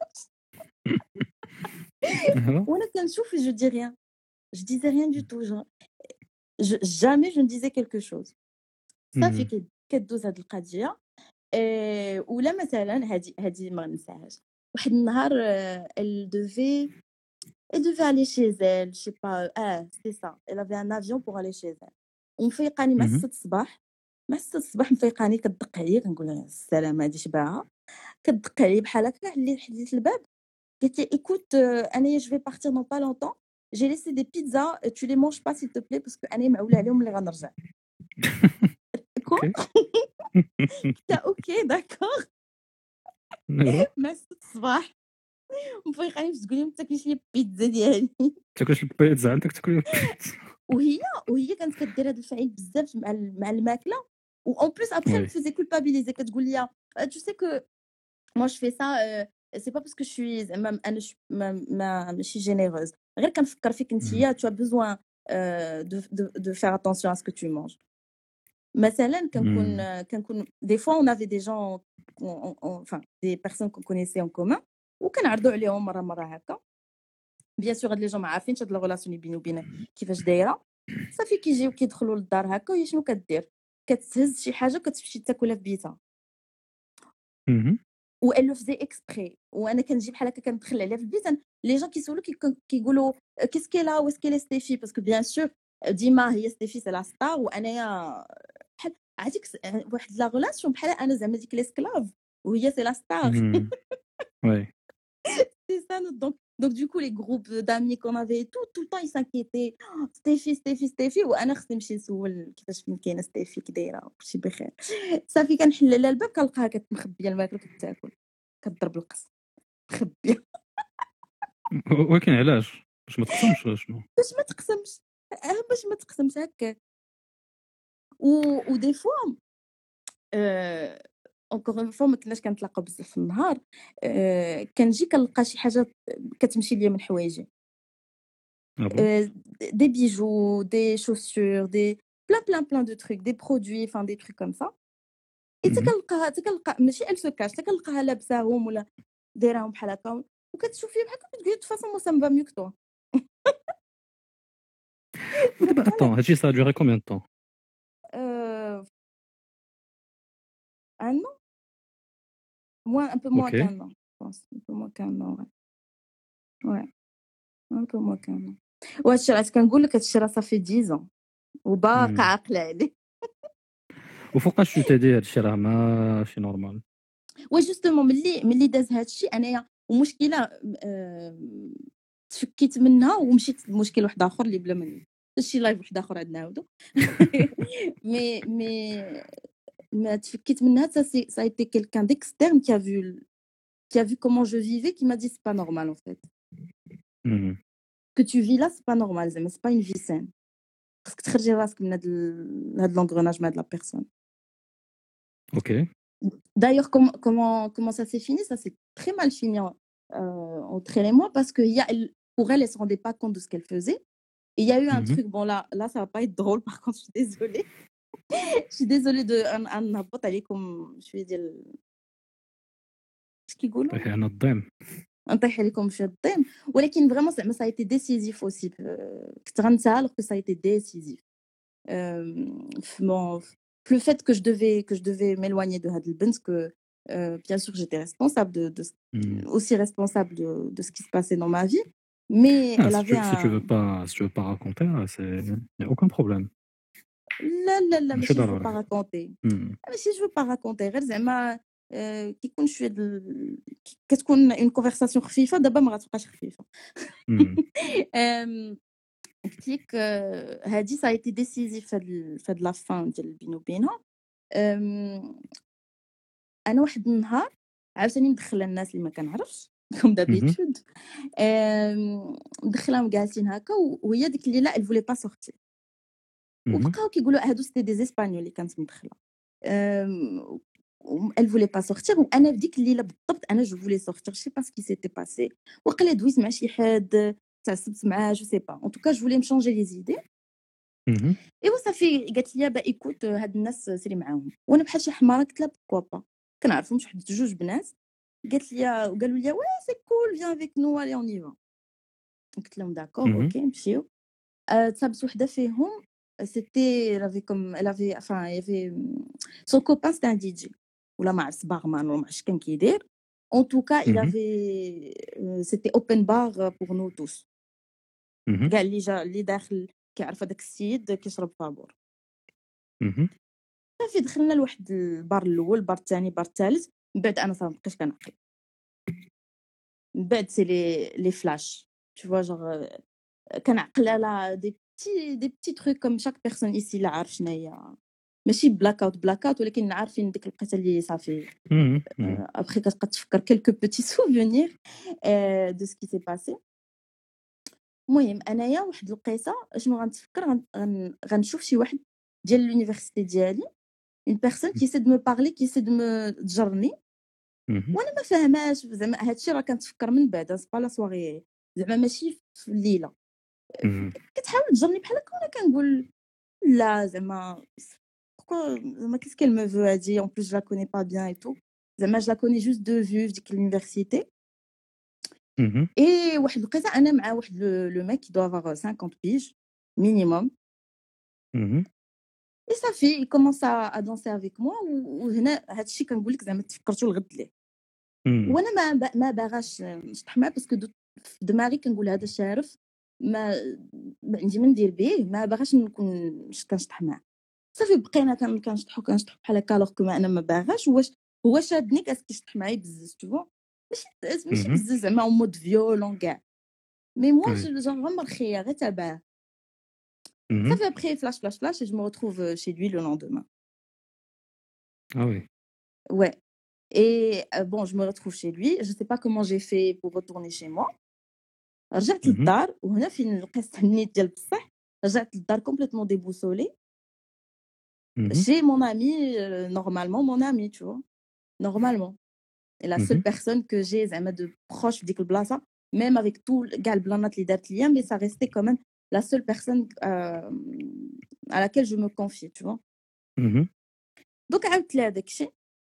أيوا. وانا كنشوف جو دي ريان je disais rien du tout genre je, jamais je ne disais quelque chose صافي مهم. كي- كدوز هاد القضيه آه، ولا مثلا هادي هادي ما ننساهاش واحد النهار آه، elle devait elle devait aller chez elle je sais pas ah c'est ça elle avait un avion pour aller chez elle ومفيقاني مع مهم. ستة الصباح مع ستة الصباح مفيقاني كتدق عليا كنقول لها السلامه هادي شباعه كتدق عليا بحال هكا حليت حليت الباب قلت لي écoute euh, انايا je vais partir dans pas longtemps j'ai laissé des pizzas euh, tu les manges pas s'il te plaît parce que انايا معوله عليهم اللي غنرجع كوا Ok. قلت لها اوكي داكور أيوا. مع ستة الصباح مفيقاني باش تقول لي ما تاكليش لي البيتزا ديالي تاكلش البيتزا عندك تاكل البيتزا. وهي وهي كانت كدير هذا الفعل بزاف مع ال- مع الماكله و en plus après elle me Oui. faisait culpabiliser كتقول لي euh, tu sais que moi je fais ça euh, c'est pas parce que je suis زعما انا ش- ما ما ماشي généreuse غير كنفكر فيك مهم. نتيا tu as besoin euh, de de de faire attention à ce que tu manges مثلا كنكون مهم. كنكون des fois on avait des gens on- on- on- enfin des personnes qu'on connaissait en commun وكنعرضوا عليهم مره مره هكا بيان سور هاد لي جون ما عارفينش هاد لا غولاسيون اللي بيني وبينها كيفاش دايره صافي كيجيو كيدخلوا للدار هكا وهي شنو كدير كتهز شي حاجه وكتمشي تاكلها في بيتها مهم. و elle le faisait exprès وانا كنجي بحال هكا كندخل عليها في البيت لي جون كيسولو كي- كيقولوا كيس كيلا واش كيلا ستيفي باسكو بيان سور ديما هي ستيفي سي لا ستار وانايا بحال عرفتي كس- واحد لا غولاسيون بحال انا زعما ديك ليسكلاف وهي سي لا ستار مهم. Ouais. c'est ça notre donc donc du coup les groupes d'amis qu'on avait et tout tout le temps ils s'inquiétaient oh, ستيفي ستيفي ستيفي وانا خصني نمشي نسول كيفاش فين كاينه ستيفي كي دايره كلشي بخير صافي كنحل لها الباب كنلقاها كتمخبيه الماكله كتاكل كتضرب القص مخبيه ولكن علاش باش ما تقسمش ولا شنو؟ باش ما تقسمش آه، باش ما تقسمش هكاك و ودي فوا آه، اونكور اون فوا ما كناش كنتلاقاو بزاف في النهار آه، كنجي كنلقى شي حاجه كتمشي ليا من حوايجي آه بون؟ euh, des bijoux, des chaussures, des plein plein plein de trucs, des produits, enfin des trucs comme ça. Et اهم. تكنلقاها تكنلقى ماشي elle se cache تكنلقاها لابساهم ولا دايراهم بحال هكا وكتشوف فيه بحال هكا كتقولي de toute façon moi ça me va mieux que toi. ودابا اتون هادشي سا دوري كومبيان دو طون؟ Euh, un an, moins un peu moins اوكي qu'un an, je pense, un peu moins qu'un an, ouais. Ouais, un peu moins qu'un an. وهادشي علاش كنقول لك هادشي راه صافي dix ans وباقا مم. عاقله عليه. وفوقاش تو تيدي هادشي راه ماشي نورمال. و جوستومون ملي ملي داز هادشي انايا ومشكله آه، تفكيت منها ومشيت لمشكل واحد اخر اللي بلا من شي لايف واحد اخر عندنا عاودو مي مي ما تفكيت منها ça c'est ça a été quelqu'un d'externe qui a vu qui a vu comment je vivais qui m'a dit c'est pas normal en fait مم. que tu vis là c'est pas normal زعما c'est pas une vie saine خاصك تخرجي راسك من هاد ال- هاد l'engrenage مع هاد la personne. اوكي D'ailleurs, comment, comment, comment ça s'est fini? Ça s'est très mal fini euh, entre elle et moi parce que il y a, elle- pour elle, elle ne se rendait pas compte de ce qu'elle faisait. Et il y a eu un Mhm. truc, bon là, là ça va pas être drôle, par contre, je suis désolée. Je suis désolée de un un n'importe aller comme je vais dire ce qui goulot. طيحي انا الضيم. نطيح عليكم في الضيم ولكن فريمون زعما ça a été décisif aussi euh, كنت غنسى alors que ça a été décisif euh, في mon في le fait que je devais que je devais m'éloigner de هاد البنت que euh, bien sûr j'étais responsable de, de مم. aussi responsable de, de ce qui se passait dans ma vie mais Ah, elle si tu, avait si tu un veux pas si tu veux pas raconter là, c'est y a aucun problème. لا لا لا ماشي ماشي je veux ضروري. pas raconter مم. ماشي je veux pas raconter غير زعما آه، كيكون شويه دل... كي- كتكون اون كونفرساسيون خفيفه دابا ما غتبقاش خفيفه مم. آم، قلت لك آه، هادي ça a été décisif في هاد ال- في هاد لا فان ديال بيني وبينها آم، انا واحد النهار عاوتاني مدخله الناس اللي ما كنعرفش كوم مهم. دابيتود مدخلاهم جالسين هكا و- وهي ديك الليله elle voulait pas sortir مهم. وبقاو كيقولوا هادو سيتي دي اسبانيول اللي كانت مدخله آم، و- elle voulait pas sortir وانا في ديك الليله بالضبط انا جو فولي sortir je sais pas ce qui s'était passé وقيلا دويت مع شي حد تعصبت معاه جو سي با en tout cas je voulais me changer les idées مهم. ايوا صافي قالت لي با ايكوت هاد الناس سيري معاهم وانا بحال شي حماره قلت لها بوكوا با كنعرفهم شي واحد جوج بنات قالت لي وقالوا لي وي سي كول فيان افيك نو الي اون يفا قلت لهم داكور مهم. اوكي مشيو آه، تصابت وحده فيهم سيتي لافي كوم لافي enfin يافي سون كوبان سيتي ان دي جي ولا ما عرفت بارمان ولا ما عرفتش كان كيدير en tout cas il مهم. avait euh, c'était open bar pour nous tous مهم. كاع اللي جا اللي داخل كيعرف هذاك السيد كيشرب فابور مهم. صافي دخلنا لواحد البار الاول البار الثاني البار الثالث من بعد انا صافي مابقيتش كنعقل من بعد سي لي لي فلاش tu vois genre كنعقل على دي بتي دي بتي تروك كوم شاك بيرسون ايسي لا عارف شناهي ماشي بلاك اوت بلاك اوت ولكن عارفين ديك الوقيته اللي صافي مهم. مهم. ابخي كتبقى تفكر كيلكو بوتي سوفونير دو سكي سي باسي المهم انايا واحد القيصه شنو غنتفكر غن- غن- غنشوف شي واحد ديال لونيفرسيتي ديالي اون بيرسون كي سي دو مو بارلي كي سي دو مو تجرني مهم. وانا ما فاهماش زعما هادشي راه كنتفكر من بعد سي با لا سواري زعما ماشي في الليله مهم. كتحاول تجرني بحال هكا وانا كنقول لا زعما pourquoi زعما qu'est-ce qu'elle me veut هادي en plus je la connais pas bien et tout زعما je la connais juste de vue في ديك l'université مهم. et واحد الوقيته انا مع واحد لو ميك qui doit avoir cinquante piges minimum مهم. et صافي il commence à, à danser avec moi و- وهنا هادشي كنقول لك زعما تفكرتو لغد ليه مهم. وانا ما ب- ما باغاش نشطح معاه باسكو دو- في دماغي كنقول هذا شارف ما ما عندي ما ندير به ما باغاش نكون ش- كنشطح معاه صافي بقينا كن- كنشطحو كنشطحو بحال هكا الوغ كو ما انا ما باغاش واش هو شادني كاس كيشطح معايا بزز تو فوا ماشي ماشي مهم. بزز زعما اون مود فيولون كاع مي موا Oui. جون غير مرخيه غير تابعه مهم. صافي ابخي فلاش فلاش فلاش جو me retrouve chez lui le lendemain Ah oui. ouais et euh, bon je me retrouve chez lui, je sais pas comment j'ai fait pour retourner chez moi. رجعت Mhm. للدار وهنا فين لقيت النيت ديال بصح رجعت للدار complètement déboussolée Mhm. chez mon ami euh, normalement mon ami tu vois normalement et la seule Mhm. personne que j'ai زعما de proche في ديك البلاصه même avec tout كاع البلانات اللي دارت ليا mais ça restait quand même la seule personne euh, à laquelle je me confie tu vois Mhm. دوك عاودت لها داكشي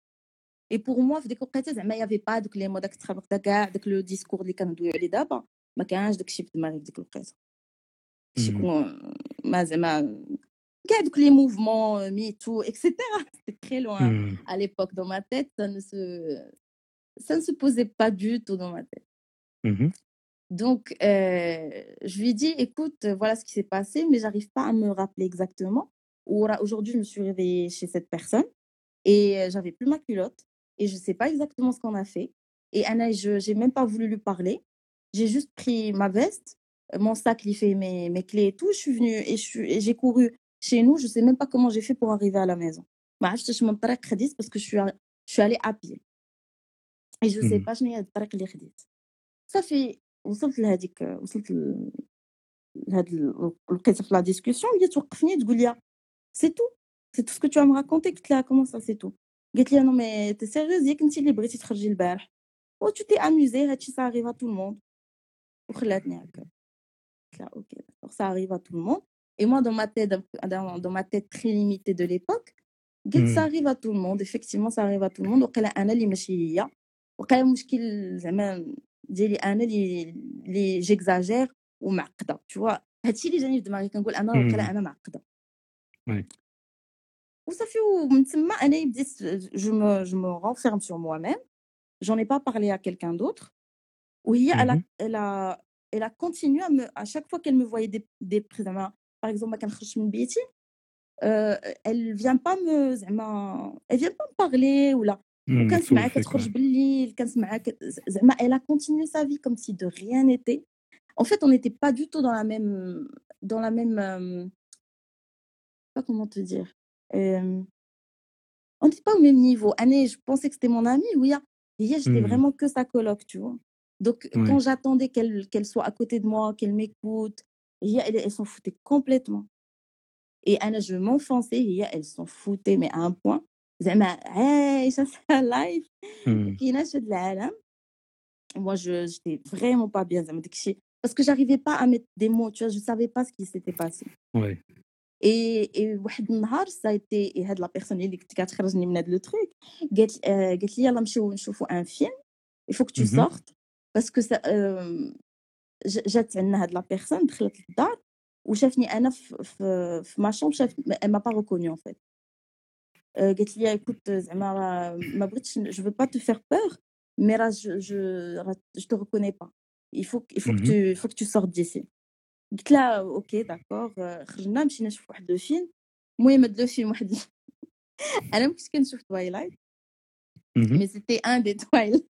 et pour moi في ديك الوقيته زعما y avait pas دوك لي مو داك تخربق داك كاع داك لو ديسكور اللي كندويو عليه دابا ما كانش داكشي في دماغي في ديك الوقيته شي Mhm. كون ما زعما كاع دوك لي موفمون ميتو اكسيتيرا c'était très loin Mhm. à l'époque dans ma tête ça ne se ça ne se posait pas du tout dans ma tête. Mhm. Donc, euh, je lui ai dit, écoute, voilà ce qui s'est passé, mais j'arrive pas à me rappeler exactement. Aujourd'hui, je me suis réveillée chez cette personne et euh, j'avais plus ma culotte et je sais pas exactement ce qu'on a fait. Et Anna, je j'ai même pas voulu lui parler. J'ai juste pris ma veste, mon sac, il fait mes, mes clés et tout. Je suis venue et je suis- et j'ai couru chez nous. Je sais même pas comment j'ai fait pour arriver à la maison. ما عرفتش من الطريق خديت parce que je suis a- je suis allée à pied. Et je sais Mhm. pas شنو هي الطريق اللي خديت. صافي وصلت لهاديك وصلت ل- لهاد ال- لقيتها في لا ديسكوسيون هي توقفني تقول لي سي تو سي تو سكو تو ام راكونتي قلت لها كومون سا سي تو قالت لي نو مي تي سيريوز ياك انت اللي بغيتي تخرجي البارح و تو تي اموزي هادشي سا اريف ا تو الموند وخلاتني هكا قلت لها اوكي داكور سا اريف ا تو الموند اي موا دون ما تيت دون ما تيت تري ليميتي دو ليبوك قلت سا Mhm. اريف ا تو الموند افكتيفمون سا اريف ا تو الموند وقيلا انا اللي ماشي هي وقيلا المشكل زعما ديالي انا اللي اللي جيكزاجير ومعقده tu vois هادشي اللي جاني في دماغي كنقول انا وقيلا Mhm. انا معقده Oui. وصافي ومن تما انا بديت جو مو جو مو renferme sur moi-même j'en ai pas parlé à quelqu'un d'autre وهي elle a Mhm. elle a elle a continué à me à chaque fois qu'elle me voyait des des زعما par exemple ما كنخرجش من بيتي euh, elle vient pas me زعما elle vient pas me parler ولا Mhm. وكنسمعها تسول فيك كتخرج ouais. بالليل كنسمعها ك- زعما elle a continué sa vie comme si de rien n'était en fait on n'était pas du tout dans la même dans la même euh, je sais pas comment te dire euh, on n'était pas au même niveau Anne je pensais que c'était mon amie oui hier j'étais Mhm. vraiment que sa coloc tu vois donc quand Ouais. j'attendais qu'elle qu'elle soit à côté de moi qu'elle m'écoute hier elle, elle s'en foutait complètement et Anna je m'enfonçais hier elle s'en foutait mais à un point زعما عايشة sa life Mhm. كايناش هاد العالم moi je j'étais vraiment pas bien زعما داكشي parce que j'arrivais pas à mettre des mots tu vois je savais pas ce qui s'était passé Ouais. et et واحد النهار ça a été هاد لا بيرسون اللي كنت كتخرجني من هاد لو تروك قالت آه، قالت لي يلا نمشيو نشوفوا ان فيلم il faut que tu Mhm. sortes parce que ça euh, ج- جات عندنا هاد لا بيرسون دخلت للدار وشافني انا في في, في ما شومبر شاف elle m'a pas reconnue en fait Euh, قالت لي écoute زعما راه ما بغيتش je veux pas te faire peur mais راه je je راه je te reconnais pas il faut que- il faut que Mhm. tu il faut que tu sortes d'ici قلت لها اوكي داكور خرجنا مشينا نشوف واحد لو فيلم المهم هاد لو فيلم واحد انا ما كنتش كنشوف تويلايت Mhm. مي سيتي ان دي تويلايت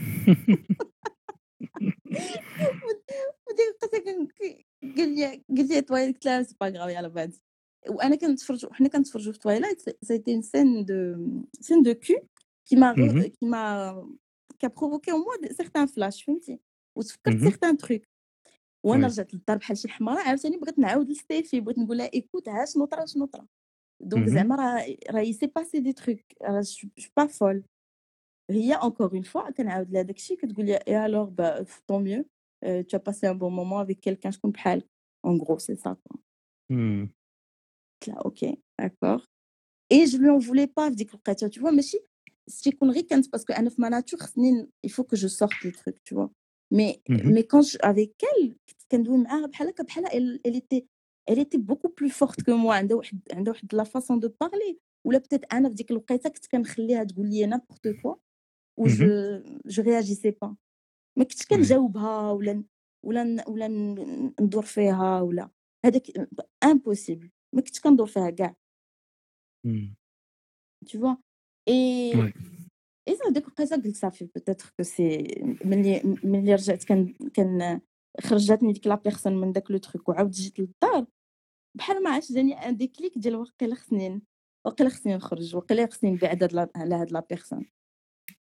وديك القصه كان كي- قال لي قال لي تويلايت قلت لها سي با غراف يلاه بعد وانا كنتفرج حنا كنتفرجوا في تويلايت سيتي une scène de scène de cul qui m'a re- Mhm. qui m'a qui a provoqué en moi de- certains flashs فهمتي وتفكرت Mhm. certains trucs وانا Oui. رجعت للدار بحال شي حماره عاوتاني بغيت نعاود لستيفي بغيت نقول لها ايكوت ها شنو طرا شنو طرا دونك Mhm. زعما راه راه سي باسي دي تروك راه جو با فول هي encore une fois كنعاود لها داكشي كتقول لي et alors bah tant mieux euh, tu as passé un bon moment avec quelqu'un شكون بحالك en gros c'est ça quoi Mhm. قلت لها اوكي داكور et je lui en voulais pas في ديك الوقيته tu vois ماشي شي يكون غير كانت باسكو انا في ما ناتور خصني il faut que je sorte le truc tu vois mais Mhm. mais quand je, avec elle كنت كندوي معاها بحال هكا بحال elle, elle était elle était beaucoup plus forte que moi عندها واحد عندها واحد la façon de parler ولا peut-être انا في ديك الوقيته كنت كنخليها تقول لي n'importe quoi و Mhm. je je réagissais pas ما كنتش Ouais. كنجاوبها ولا ن- ولا ن- ولا ن- ندور فيها ولا هذاك امبوسيبل ما كنتش كندور فيها كاع Mhm. tu vois et Ouais. et ça ديك الوقيته قلت صافي peut-être que c'est ملي ملي رجعت كان كان خرجتني ديك لا بيرسون من داك لو تروك وعاود جيت للدار بحال ما عرفتش جاني ان ديكليك ديال واقيلا خصني واقيلا خصني نخرج واقيلا خصني نبعد هاد لا- على هاد لا بيرسون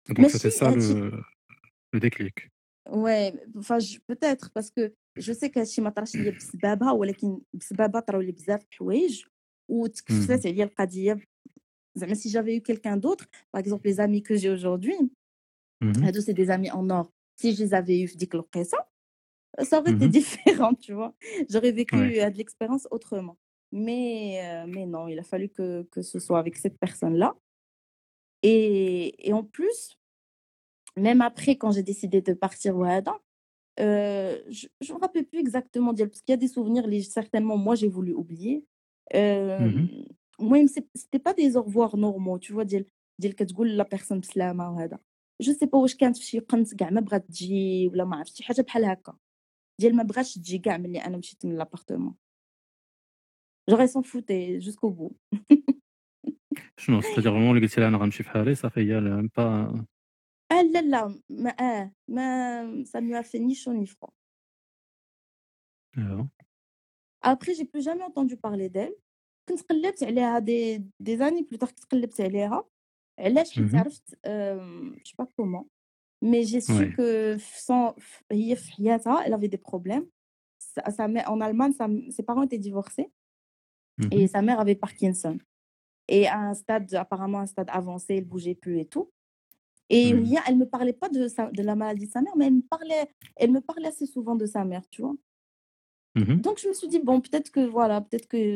Donc c'était ماشي ça هادشي le le déclic. ouais enfin je- peut-être parce que je sais que هادشي ما طراش ليا بسببها ولكن بسببها طراو لي بزاف د الحوايج Mmh. وتكفلت عليا القضيه زعما si j'avais eu quelqu'un d'autre par exemple les amis que j'ai aujourd'hui Mmh. هادو c'est des amis en or si je les avais eu في ديك الوقيته ça aurait été Mmh. différent tu vois j'aurais vécu Ouais. euh, de l'expérience autrement mais euh, mais non il a fallu que que ce soit avec cette personne là et et en plus même après quand j'ai décidé de partir وهذا euh, je je me rappelle plus exactement ديال parce qu'il y a des souvenirs les certainement moi j'ai voulu oublier euh, Mmh. المهم c'est- c'était pas des au revoir normaux tu vois ديال ديال كتقول لا بيرسون بسلامه وهذا جو سي با واش كانت فشي قنت كاع ما بغات تجي ولا ما عرفت شي حاجه بحال هكا ديال ما بغاتش تجي كاع ملي انا مشيت من لابارتمون جوغي سون فوتي جوسكو بو شنو c'est-à-dire vraiment اللي قلتي لها أنا غنمشي في حالي صافي هي même pas. اه لا لا ما اه ما ça ne lui a fait ni chaud ni froid أيوا. après j'ai plus jamais entendu parler d'elle كنت قلبت عليها دي دي زاني بلوتار كنت قلبت عليها علاش حيت Mmh. عرفت je sais pas comment mais j'ai su Ouais. que sans هي في حياتها elle avait des problèmes sa, sa mère en Allemagne sa, ses parents étaient divorcés Mmh. et sa mère avait Parkinson et à un stade apparemment un stade avancé elle bougeait plus et tout et Mmh. Ria, elle me parlait pas de sa, de la maladie de sa mère mais elle me parlait elle me parlait assez souvent de sa mère tu vois Mmh. donc je me suis dit bon peut-être que voilà peut-être que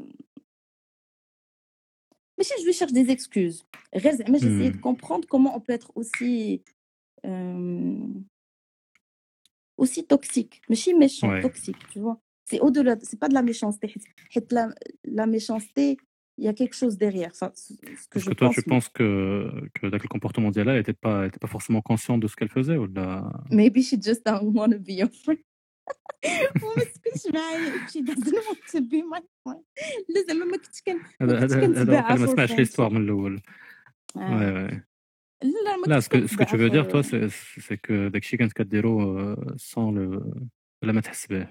mais si je lui cherche des excuses mais j'essayais de Mmh. comprendre comment on peut être aussi euh, aussi toxique mais si méchant Ouais. toxique tu vois c'est au-delà c'est pas de la méchanceté حيت la, la méchanceté il y a quelque chose derrière enfin, ce que Parce je que toi pense tu penses que que avec le comportement d'Yala elle était pas elle était pas forcément consciente de ce qu'elle faisait ou là. maybe she just don't want to be your friend وما تسكنش معايا she doesn't want to be my friend لا زعما ما كنتش كان هذا ما كنتش هذا هذا كنتباع وقيلا ما for سمعتش friendship l'histoire من الأول. Ouais آه. ouais. لا ما Là كنتش ce que ce que tu كنتباع veux dire toi for c'est c'est que داكشي كانت كديرو euh, sans le بلا ما تحس به.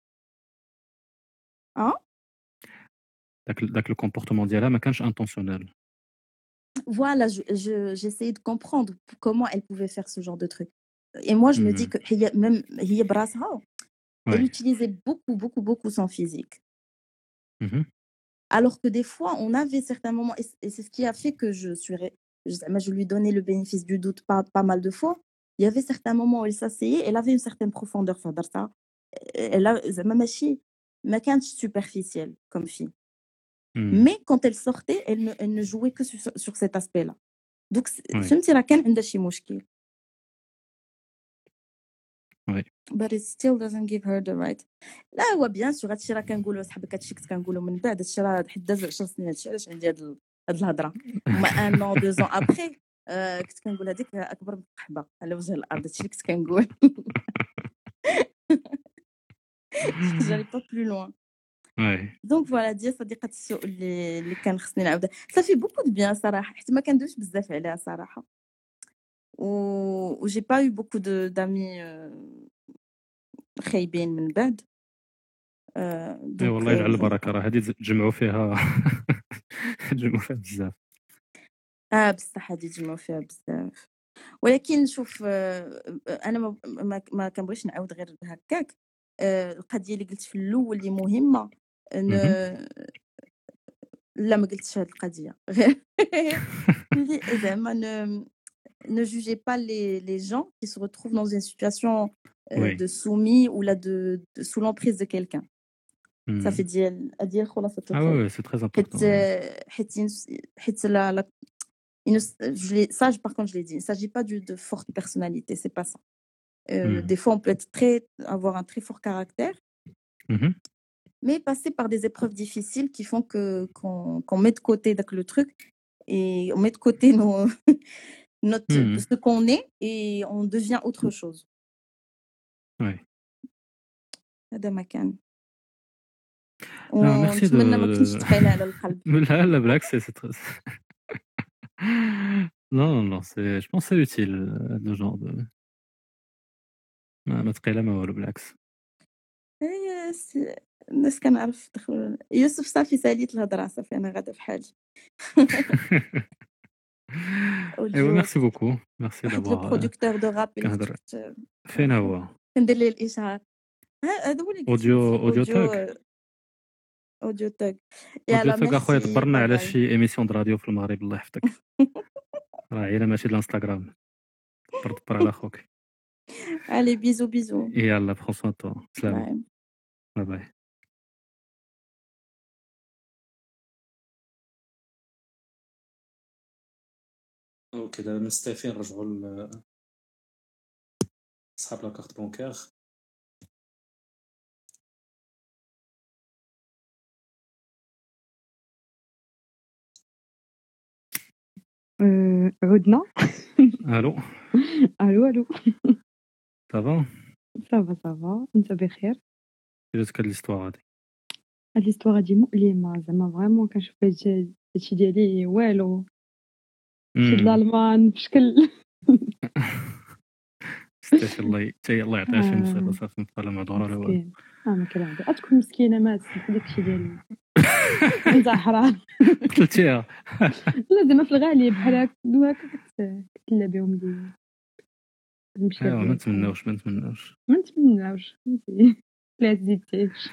اه داك داك le comportement ديالها ما كانش intentionnel. voilà je je j'essayais de comprendre comment elle pouvait faire ce genre de truc et moi je me dis Mmh. que هي même هي براسها elle Ouais. utilisait beaucoup beaucoup beaucoup son physique Mmh. alors que des fois on avait certains moments et c- et c'est ce qui a fait que je suis ré- je, moi, je lui donnais le bénéfice du doute pas, pas mal de fois il y avait certains moments où elle s'asseyait elle avait une certaine profondeur في هضرتها elle a زعما ماشي ما كانتش superficielle comme fille Mmh. mais quand elle sortait elle ne, elle ne jouait que sur, sur cet aspect là donc Ouais. فهمتي راه كان عندها شي مشكل Ouais. but it still doesn't give her the right لا هو بيان سور هادشي راه كنقولوا صاحبك هادشي كنت كنقولوا من بعد هادشي راه حيت داز عشر سنين هادشي علاش عندي هاد ال- هاد الهضره هما ان ان دو زون ابخي كنت كنقول هذيك اكبر من القحبه على وجه الارض هادشي اللي كنت كنقول جاري با بلو لوان Ouais. دونك فوالا ديال صديقه السوء اللي اللي كان خصني نعاودها صافي بوكو دو بيان صراحه حيت ما كندويش بزاف عليها صراحه و و جي با يو بوكو دو دامي خايبين من بعد آه، اي دونك والله يجعل آه، البركه راه هذه تجمعوا فيها تجمعوا فيها بزاف. اه بصح هادي تجمعوا فيها بزاف ولكن شوف آه، انا ما ما, ما كنبغيش نعاود غير هكاك آه، القضيه اللي قلت في الاول اللي مهمه ن... مهم. لا ما قلتش هاد القضيه غير اللي زعما ne ne jugez pas les les gens qui se retrouvent dans une situation euh, Oui. de soumis ou là de, de sous l'emprise de quelqu'un ça Hmm. fait ديال ديال خلاصه Ah القول ouais, ouais, c'est très حيت important. آه، حيت ين- حيت لا لا il ne s- je l'ai- ça je- par contre je l'ai dit il ne s'agit pas du- de forte personnalité c'est pas ça Euh, Hmm. des fois on peut être très avoir un très fort caractère Mhm. mais passer par des épreuves difficiles qui font que qu'on qu'on met de côté donc, le truc et on met de côté nos notre Mhm. ce qu'on est et on devient autre chose Ouais. هذا ما كان Ah, merci de. ونتمنى ما تكونش ثقيله على القلب Là, la blague, c'est c'est très. Non, non, non, c'est. Je pense que c'est utile euh, le genre de. ما ما تقيله ما والو بالعكس. هي س- الناس كنعرف دخل يوسف صافي ساليت الهضره صافي انا غادا في حالي ايوا ميرسي بوكو ميرسي واحد لو دابا برودكتور دو راب اللي كنهضر كنت فين هو كندير ليه الاشهار. ها هذا هو اللي قلت اوديو لك اوديو اوديو تاك اوديو تاج. اوديو يلا تاك اخويا ميرسي دبرنا باي على باي. شي ايميسيون د راديو في المغرب الله يحفظك راه عيله ماشي الانستغرام دبر دبر على خوك علي بيزو بيزو يلا بخصوص تو سلام باي. باي باي اوكي دابا مستافين نرجعوا لصحاب لاكارت بونكير. أه، عدنا. الو الو الو. صافا صافا صافا، انت بخير؟ جاتك هاد ليستوار هادي هاد ليستواغ هادي مؤلمه زعما فريمون كنشوف هاد- هادشي ديالي والو شي د الالمان بشكل ستاشي الله حتى الله يعطيها شي مصيبه آه، صافي مبقى لا مهضوره لا والو مسكين. اه ما كاين عندها تكون مسكينه ما تسمح داكشي ديال انت حرام. قتلتيها لا زعما في الغالب بحال هكا دو هكا كت- كتلا بهم لي نمشي ايوا ما بهم نتمناوش ما نتمناوش ما نتمناوش فهمتي لا تزيدتيش.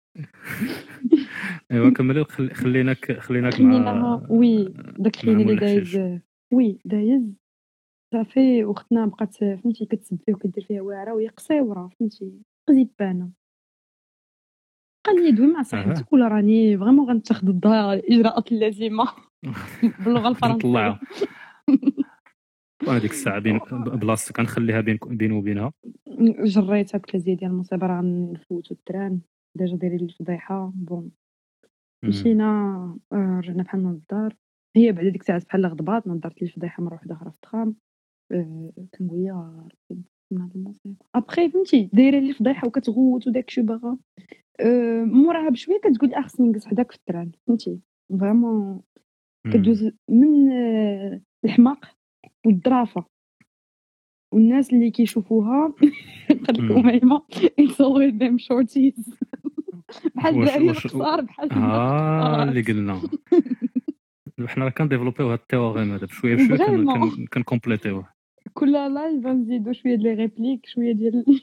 ايوا كملي خل- خليناك خليناك خلينا مع وي داك مع الخيني اللي مولا حشيش دايز وي دايز صافي اختنا بقات فهمتي كتسب فيه وكدير فيها واعره وهي قصيوره فهمتي قزيبانه. قال لي دوي مع اها صاحبتك ولا راني فريمون غنتخذ الض- الاجراءات اللازمه باللغه الفرنسيه. غنطلعها وهذيك الساعه بين بلاصتك كنخليها بين بيني وبينها جريتها قلت لها زيدي المصيبه راه غنفوتو التران ديجا دايرين لي الفضيحه بون. مم. مشينا آه، رجعنا بحالنا للدار. هي بعد ديك الساعه بحال غضبات نضرت لي الفضيحه مره وحده اخرى في التخام. آه، كنقول لها ربي من هاد المصيبه ابخي فهمتي دايره لي الفضيحه وكتغوت وداكشي باغا آه، موراها بشويه كتقول لي خصني نجلس حداك في التران فهمتي فريمون كدوز من آه، الحماق والظرافه والناس اللي كيشوفوها قال لك اميمه it's always them shorties بحال واش الدراري واش القصار بحال ها اللي قلنا حنا راه كنديفلوبيو هاد التيوريم هذا بشويه بشويه فريمون كنكومبليتيوه كل لايف غنزيدو شويه ديال لي ريبليك شويه ديال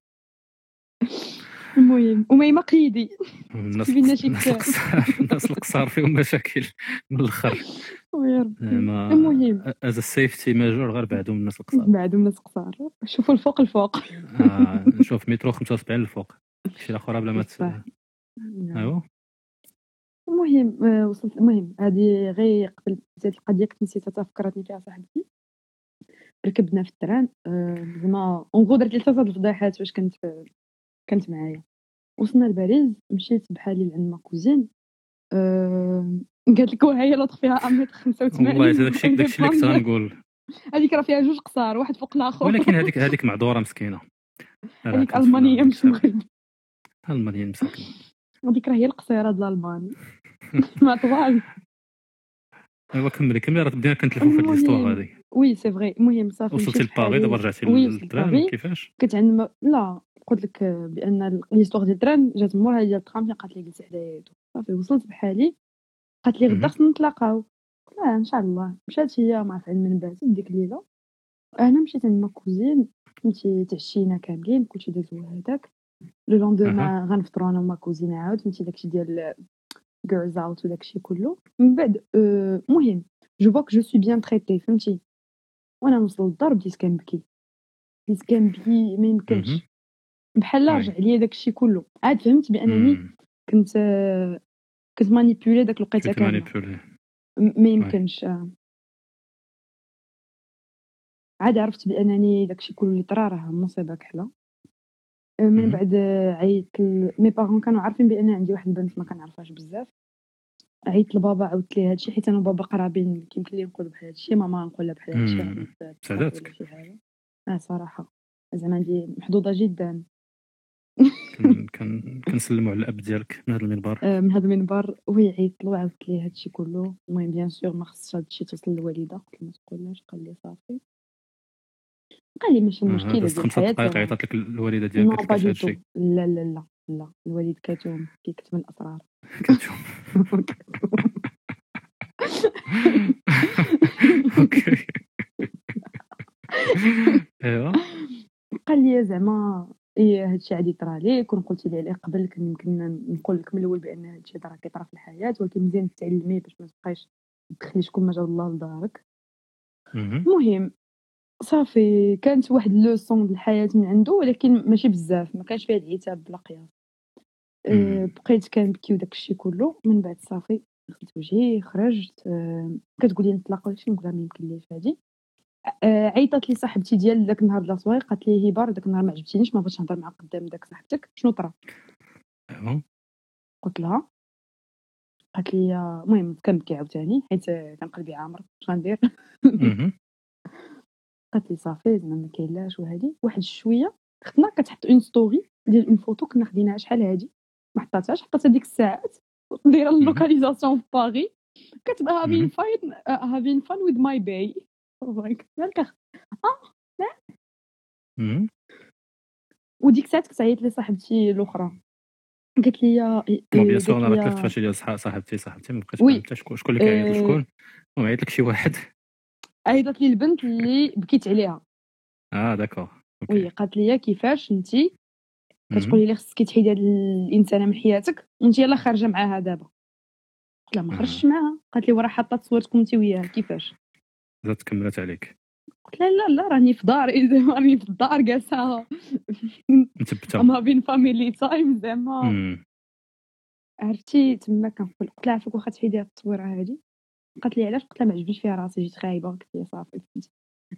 المهم اميمه قيدي الناس كتبينا شي الناس كتاب القصار الناس القصار فيهم مشاكل من الاخر ويا ربي. زعما المهم از سيفتي ميجور غير بعدهم الناس القصار بعدهم ناس قصار شوفوا الفوق الفوق آه نشوف مترو خمسة وسبعين الفوق شي الاخر بلا ما ت... صح. ايوا المهم آه، وصلت المهم هذه غير قبل زاد القضيه كنت نسيتها فكرتني فيها صاحبتي. ركبنا في التران آه، زعما اونغو درت لي ثلاثه الفضايحات فاش كنت كانت معايا. وصلنا لباريس مشيت بحالي لعند ما كوزين أه... قالت لك وهي لطخ فيها امتر خمسة وثمانين والله داكشي داكشي اللي كنت غنقول هذيك راه فيها جوج قصار واحد فوق الاخر ولكن هذيك هذيك معذوره مسكينه هذيك المانيه مش مغرب المانيه مسكينه هذيك راه هي القصيره ديال الالمان ما طوال. ايوا كملي كملي راه بدينا كنتلفوا في هاد ليستوار هذه وي سي فري المهم صافي وصلتي لباري دابا رجعتي للتران كيفاش كنت عند م... لا قلت لك بان ليستوار ديال التران جات مورها ديال الترام قالت لي جلسي حدايا صافي وصلت بحالي قالت لي غدا خصنا نتلاقاو. لا ان شاء الله مشات هي مع فعل من بعد ديك الليله انا مشيت عند ما كوزين فهمتي تعشينا كاملين كلشي دازو هذاك لو لوندوما غنفطروا انا وما كوزين عاود فهمتي داكشي ديال girls out وداكشي كله من بعد المهم جو فوا كو جو سوي بيان تريتي فهمتي وانا نوصل للدار بديت كنبكي بديت كنبكي ما يمكنش بحال رجع ليا داكشي كله عاد فهمت بانني كنت كنت مانيبيولي داك الوقيته كامله ما يمكنش. عاد عرفت بانني داكشي كله اللي طرا راه مصيبه كحله. من بعد عيطت مي بارون كانوا عارفين بان عندي واحد البنت ما كنعرفهاش بزاف. عيطت لبابا عاودت ليه هادشي حيت انا وبابا قرابين كيمكن لي نقول بحال هادشي ماما نقول لها بحال هادشي سعداتك اه صراحه زعما عندي محظوظه جدا. كان كنسلموا على الاب ديالك من هذا المنبر آه من هذا المنبر وهي عيطت له وعاودت ليه هادشي كله. المهم بيان سور ما خصش هادشي توصل للوالده قلت له ما تقولهاش قال لي صافي قال لي ماشي مشكله ديال الحياه خمسة دقائق عيطت لك الوالده ديالك قالت لك هادشي لا لا لا لا الوالد كاتوم كيكتم الاسرار كاتوم هادشي عادي يطرى ليك ونقولتي لي عليه قبل كان يمكن نقول لك من الاول بان هادشي راه كيطرى في الحياه ولكن مزيان تعلمي باش ما تبقايش تدخلي شكون ما جا الله لدارك. المهم صافي كانت واحد لوسون د الحياه من عنده ولكن ماشي بزاف ما كانش فيها العتاب بلا قياس. أه بقيت كنبكي وداك الشيء كله من بعد صافي غسلت وجهي خرجت. أه كتقول لي نطلقوا شي نقول لها ما يمكن ليش هادي. أه عيطت لي صاحبتي ديال داك النهار بلا صوير قالت لي هبار داك النهار ما عجبتينيش ما بغيتش نهضر معاك قدام داك صاحبتك شنو طرا. قلت لها قالت لي المهم كنبكي عاوتاني حيت كان قلبي عامر اش غندير. قالت لي صافي زعما ما كاين لاش وهادي واحد شويه خدنا كتحط اون ستوري ديال اون فوتو كنا خديناها شحال هادي ما حطاتهاش حطاتها ديك الساعات دايره اللوكاليزاسيون في باغي كتبقى هافين فاين هافين فان ويز ماي باي مالك اه لا. وديك الساعات كنت عيطت لي صاحبتي الاخرى قالت لي بون بيان سور انا راه كيفاش ديال صاحبتي صاحبتي ما بقيتش فهمت شكون شكون اللي كيعيط شكون وعيط لك شي واحد عيطت لي البنت اللي بكيت عليها. اه داكور وي قالت لي كيفاش انتي كتقولي لي خصك تحيدي هاد الانسانه من حياتك وانت يلاه خارجه معاها دابا. قلت لها ما خرجتش معاها. قالت لي وراه حاطه تصويرتكم انت وياها كيفاش زادت كملت عليك. قلت لها لا لا راني في داري راني في الدار جالسه مثبته ما بين فاميلي تايم زعما عرفتي تما كنقول. قلت لها عافاك واخا تحيدي هاد التصويره هادي. قالت لي علاش. قلت لها ما عجبنيش فيها راسي جيت خايبه. قلت لها صافي فهمتي.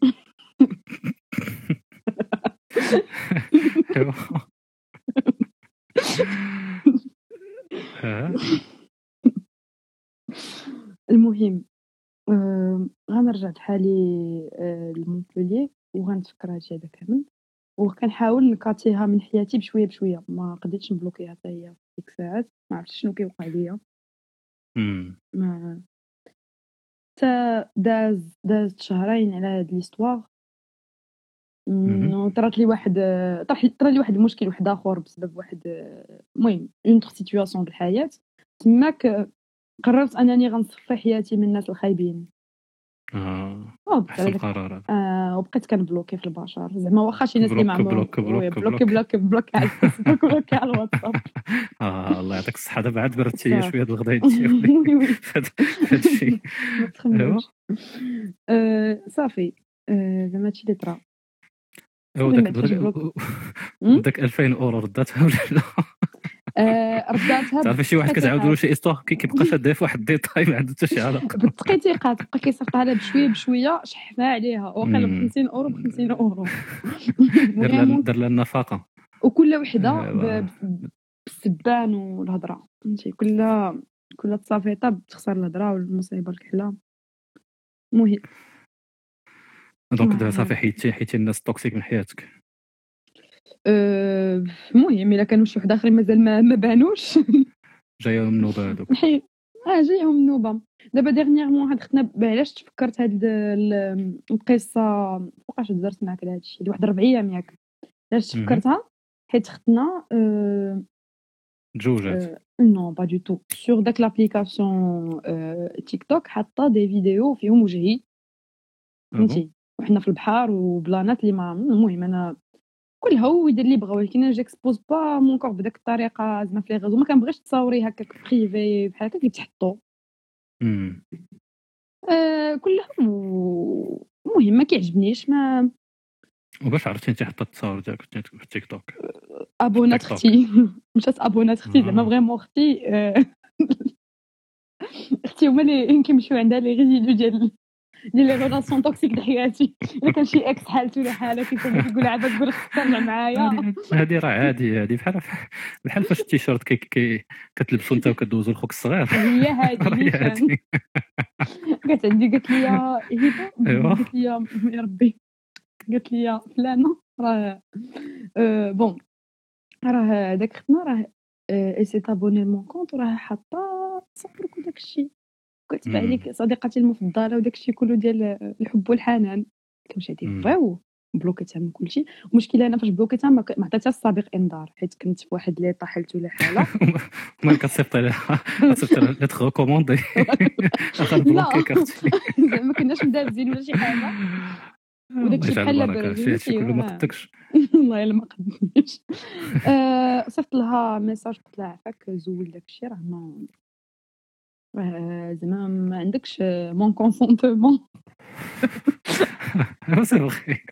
المهم آه غنرجع بحالي آه لمونبوليي وغنتفكر هادشي هذا كامل وكنحاول نكاتيها من حياتي بشويه بشويه ما قدرتش نبلوكيها حتى هي ديك الساعات ما عرفتش شنو كيوقع ليا. ما تا داز داز شهرين على هاد ليستوار طرات لي واحد طرا لي واحد المشكل واحد اخر بسبب واحد المهم اون سيتوياسيون د الحياه تماك قررت انني غنصفي حياتي من الناس الخايبين. اه احسن القرار. اه وبقيت كنبلوكي في البشر زعما واخا شي ناس اللي معمر بلوك بلوك بلوك بلوك بلوك على الفيسبوك بلوك على الواتساب. اه الله يعطيك الصحه دابا عاد بردتي شويه د الغدا ديالي هذا الشيء. ايوا صافي زعما هادشي اللي طرا. ايوا داك داك ألفين اورو رداتها ولا لا؟ آه رداتها. تعرفي شي واحد كتعاود له شي استوار كيبقى شاد في واحد ديتاي ما عنده حتى شي علاقه بالدقيقه تبقى كيصيفطها لها بشويه بشويه شحنا عليها واقيلا ب خمسين اورو ب خمسين اورو دار لها النفقه وكل وحده بالسبان والهضره فهمتي كل كل تصافيطه بتخسر الهضره والمصيبه الكحله. المهم دونك دابا صافي حيدتي حيدتي الناس التوكسيك من حياتك. المهم الا كانوا شي واحد اخرين مازال ما, ما بانوش جايهم النوبه هذوك. اه جايهم النوبه. دابا ديرنييرمون هاد ختنا علاش تفكرت هاد القصه فوقاش درت معاك لهاد الشيء واحد ربع ايام ياك علاش تفكرتها حيت ختنا أه جوجات نو با دو تو سور داك لابليكاسيون تيك توك حاطه دي فيديو فيهم وجهي فهمتي وحنا في البحر وبلانات اللي ما المهم انا كلها هو يدير اللي بغا ولكن انا جيكسبوز با مون كور بداك الطريقه زعما في لي غيزو ما كنبغيش تصاوري هكاك بريفي بحال هكا كيتحطوا امم آه كلها المهم ما كيعجبنيش ما. وباش عرفتي انت حطيت التصاور ديالك في التيك توك؟ ابونات اختي مشات ابونات اختي زعما فريمون اختي اختي هما اللي كيمشيو عندها لي ريزيدو ديال ديال لي ريلاسيون توكسيك د حياتي. الا كان شي اكس حالته ولا حاله كيكون كيقول عاد تقول خصك ترجع معايا. هذه راه عادي هذه بحال بحال فاش التيشيرت كي, كي كتلبسوا انت وكدوزوا لخوك الصغير. هي هذه قالت عندي قالت لي هبه قالت لي يا ربي قالت لي فلانه راه بون راه داك ختنا راه اي سي تابوني مون كونط راه حاطه تصورك وداك الشيء كتبع عليك صديقتي المفضله وداك الشيء كله ديال الحب والحنان كنمشي هادي فاو بلوكيتها من كلشي. المشكله انا فاش بلوكيتها ما عطيتهاش السابق انذار حيت كنت في واحد لي طاحلت ولا حاله ما كتصيفط لها كتصيفط لها لتر ريكوموندي غنبلوكيك اختي زعما ما كناش مدابزين ولا شي حاجه وداكشي يجعل بحال البركة، شي هادشي كله ما قدكش. والله الا ما قدنيش. آه، صيفط لها ميساج قلت لها عفاك زول داكشي راه ما راه زعما ما عندكش مون كونسونتمون. سي فغي.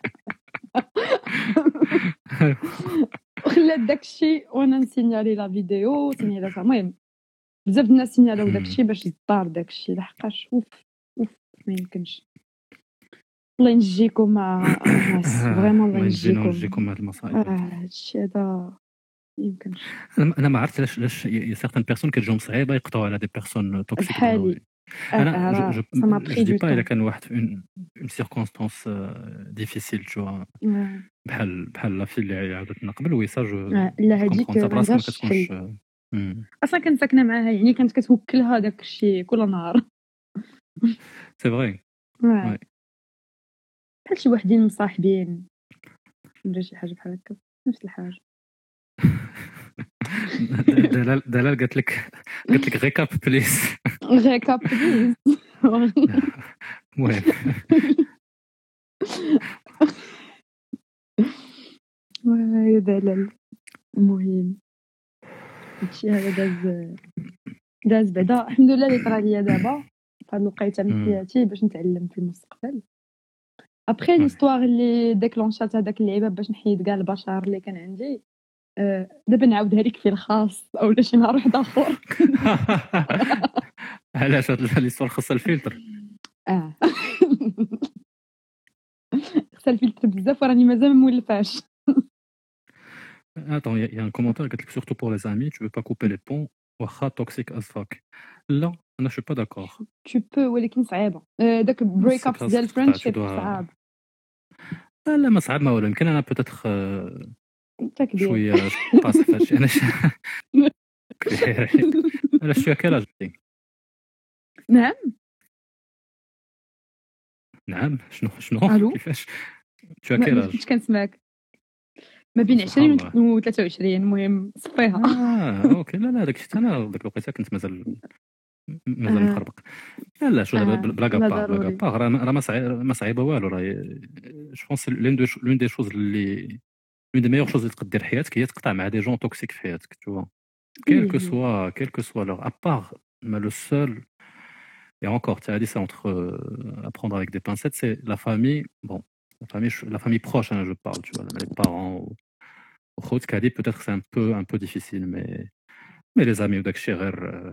وخلات داكشي وانا نسينيالي لا فيديو سينيالاتها. المهم بزاف د الناس سينيالاو داكشي باش يطار داكشي لحقاش اوف اوف ما يمكنش. الله ينجيكم مع الناس فريمون الله الله ينجينا ينجيكم. وينجيكم من هاد المصايب. اه هادشي هذا يمكنش انا أنا ما عرفت علاش علاش يا سيغتان بيرسون كتجيهم صعيبه يقطعوا على دي بيرسون توكسيك. بحالي. انا آه، جو راه جو ça m'a جو pris دي du با الا temps. كان واحد في اون اون سيركونستانس ديفيسيل تو آه. بحال بحال لا في اللي عاودتنا قبل وي سا جو آه، لا هذيك كومبرون ما براسك ما عندهاش كتكونش. حل. مم. اصلا كنت ساكنه معاها يعني كانت كتوكلها داك الشيء كل نهار. سي فغي. آه. وي. بحال شي وحدين مصاحبين ولا شي حاجه بحال هكا نفس الحاجه. دلال دلال قالت لك قالت لك ريكاب بليز. ريكاب بليز. المهم يا دلال. المهم هادشي هذا داز داز بعدا الحمد لله اللي طرا ليا دابا فهاد الوقيته من مم. حياتي باش نتعلم في المستقبل. ابخي وي. ليستواغ اللي ديكلونشات هذاك اللعيبه باش نحيد كاع البشر اللي كان عندي. آه، دابا نعاودها لك في الخاص اولا شي نهار واحد اخر. علاش هاد ليستوار خاصها الفلتر؟ اه خصها الفلتر بزاف وراني مازال ما مولفاش. Attends, il y, a- il y a un commentaire qui dit surtout pour les amis, tu veux pas couper les ponts, wacha toxique as fuck. Là, je suis pas d'accord. tu peux ولكن صعيبه. آه، داك بريك اب خاصك ديال تقطع، فريندشيب tu dois- صعاب. لا لا ما صعب ما ولا يمكن انا بوتيتر انت كبير. شويه قاصح في هادشي. انا ش- انا شويه كلاج. نعم نعم شنو شنو ألو؟ كيفاش شو ما ما كلاج؟ كنتش كنسمعك ما بين سبحان عشرين الله. و ثلاثة وعشرين. المهم صفيها. اه اوكي لا لا داكشي انا ديك الوقيته كنت مازال مازال آه. مخربق. لا لا شو دابا آه، بلا لا كابا بلا ضروري. كابا راه ما راه ما صعيب ما صعيبه والو. راه جو بونس لون دو لون دي شوز اللي لون دي ميور شوز اللي تقدر حياتك هي تقطع مع دي جون توكسيك في حياتك تو كيل كو سوا كيل كو سوا لور ابار ما لو سول et encore tu as dit ça entre euh, à prendre avec des pincettes c'est la famille bon la famille la famille proche hein, je parle tu vois les parents ou خوت كادي peut-être c'est un peu un peu difficile mais mais les amis وداكشي غير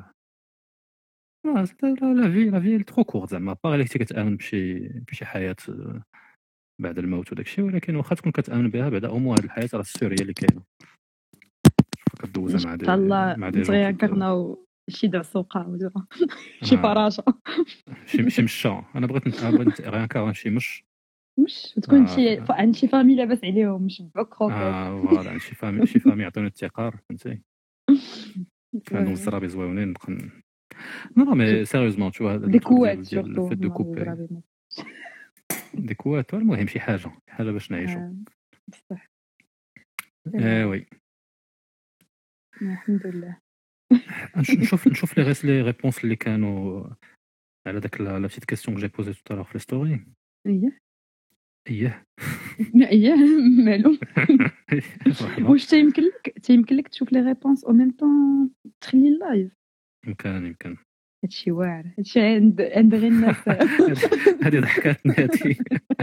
آه، لا لا في لا في ترو كورت زعما باغي اللي كنتي كتامن بشي بشي حياه آه، بعد الموت وداكشي ولكن واخا تكون كتامن بها بعدا او موان هاد الحياه راه السور هي اللي كاينه كدوزها مع دي الله مع دي دغيا جون كي- كرناو شي دعسوقه ولا شي آه. فراشه. شي شي مشا انا بغيت نت- أنا بغيت غير كار شي مش مش تكون آه. شي ف- عند شي فامي لاباس عليهم مش بوك خوفات. اه فوالا شي فامي شي فامي يعطوني التقار فهمتي عندهم الزرابي زويونين نبقى ن- نو مي سيريوزمون تو هذا دي كوات ديال سورتو الفيت دو كوبي دي كوات المهم شي حاجه شي حاجه باش نعيشوا. بصح اه وي الحمد لله. نش- نشوف نشوف لي غيس لي ريبونس اللي كانوا على داك لا لا بتيت كيسيون كو جي بوزي تو في ستوري. اييه اييه اييه مالو. واش تيمكن لك تيمكن لك تشوف لي ريبونس او ميم طون تخلي اللايف. يمكن يمكن هادشي واعر هادشي عند عند غير الناس. هذه ضحكاتني هذه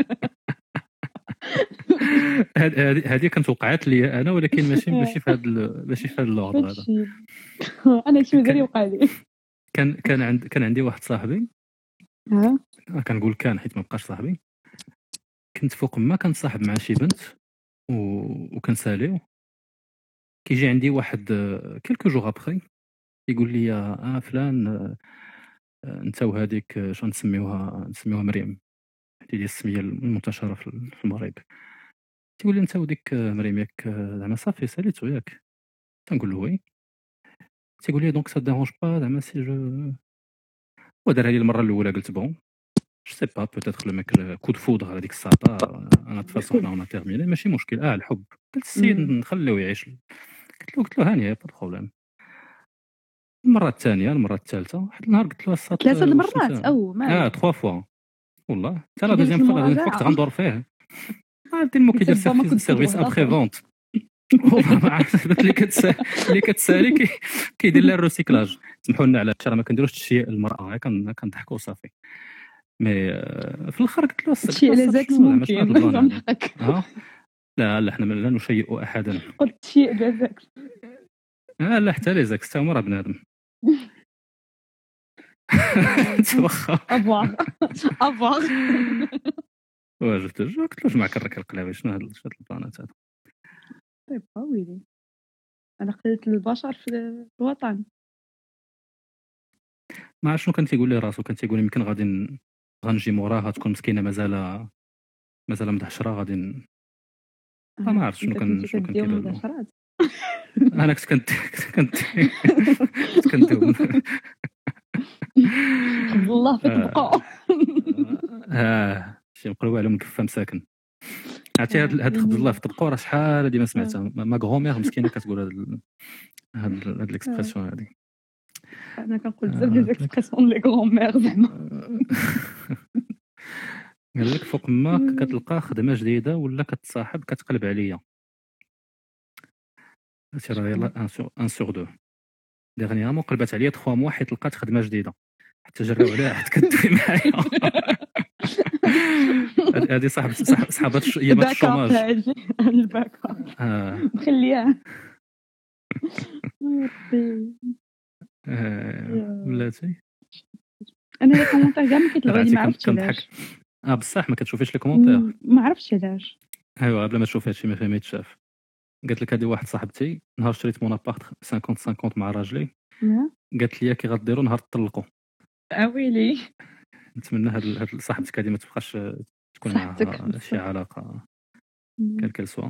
هذه هذه كانت وقعت لي انا ولكن ماشي ماشي في هذا ماشي في هذا اللوردر هذا. هادشي انا هادشي مازال يوقع لي. كان كان عند كان عندي واحد صاحبي ها كنقول كان حيت ما بقاش صاحبي. كنت فوق ما كنتصاحب مع شي بنت و... وكنساليو كيجي عندي واحد كيلكو جوغ ابخي يقول لي اه فلان آه، انت وهذيك آه، شنو نسميوها نسميوها مريم هذه هي السميه المنتشره في في المغرب. تقول لي انت وديك آه، مريم ياك آه، زعما صافي ساليتو ياك تنقول له وي. تيقول لي دونك سا ديرونج با زعما سي جو ودارها لي المره الاولى قلت بون جو سي با بوتيتر لو ميك كود فودر هذيك الساعه انا تفاصل حنا اون تيرميني ماشي مشكل اه الحب. قلت السيد مم. نخليوه يعيش. قلت له قلت له هانيه با بروبليم. المره الثانيه المره الثالثه واحد النهار قلت له الساط ثلاثة المرات او اه ما تخوا فوا والله حتى لا كي داير دوزيام فوا المراجعة. دوزيام فوا كنت غندور فيه عرفتي المو كيدير سيرفيس ابخي فونت ما عرفت اللي كتسالي اللي كتسالي كيدير لها الروسيكلاج. سمحوا لنا على هادشي راه ما كنديروش تشيء المراه كنضحكوا صافي. مي في الاخر قلت له شي على زاك ممكن نضحك. لا لا حنا لا نشيء احدا. قلت شيء بزاك اه لا حتى لي زاك حتى هما راه بنادم. توخا افواغ افواغ واش قلت له قلت له جمع كرك القلاوي شنو هاد البلانات هذا. طيب ويلي انا قلت البشر في الوطن ما عرفت شنو كان تيقول لي راسو. كان تيقول لي يمكن غادي غنجي موراها تكون مسكينه مازال مازال مدحشره غادي ما عرفت شنو كان شنو كان كيدير له. انا كنت كنت كنت كنت خذ الله فيك بقاء. اه شي نقولوا عليهم كفه مساكن. عرفتي هاد هاد خذ الله في طبقو راه شحال هادي ما سمعتها. ما غرومير مسكينه كتقول هاد هاد هاد ليكسبرسيون هادي. انا كنقول بزاف ديال ليكسبرسيون لي غرومير زعما. قال لك فوق ما كتلقى خدمه جديده ولا كتصاحب كتقلب عليا. هادشي راه يلاه ان سور ان سور دو. ديغنيامون قلبت عليا ثلاثة موا حيت لقات خدمه جديده حتى جراو عليها حتى كدوي معايا. هذه صاحب صحابات ايامات الشوماج الباكا مخليها بلاتي. انا لي كومونتير كاع ما كيطلعوا لي ما عرفتش علاش. اه بصح ما كتشوفيش لي كومونتير ما عرفتش علاش. ايوا بلا ما تشوف هادشي ما فهميتش شاف. قالت لك هذه واحد صاحبتي نهار شريت مون ابارت خمسين خمسين مع راجلي قالت لي كي غديروا نهار تطلقوا. اه ويلي نتمنى هاد هاد صاحبتك هذه ما تبقاش تكون معها شي علاقه كالكل سوا.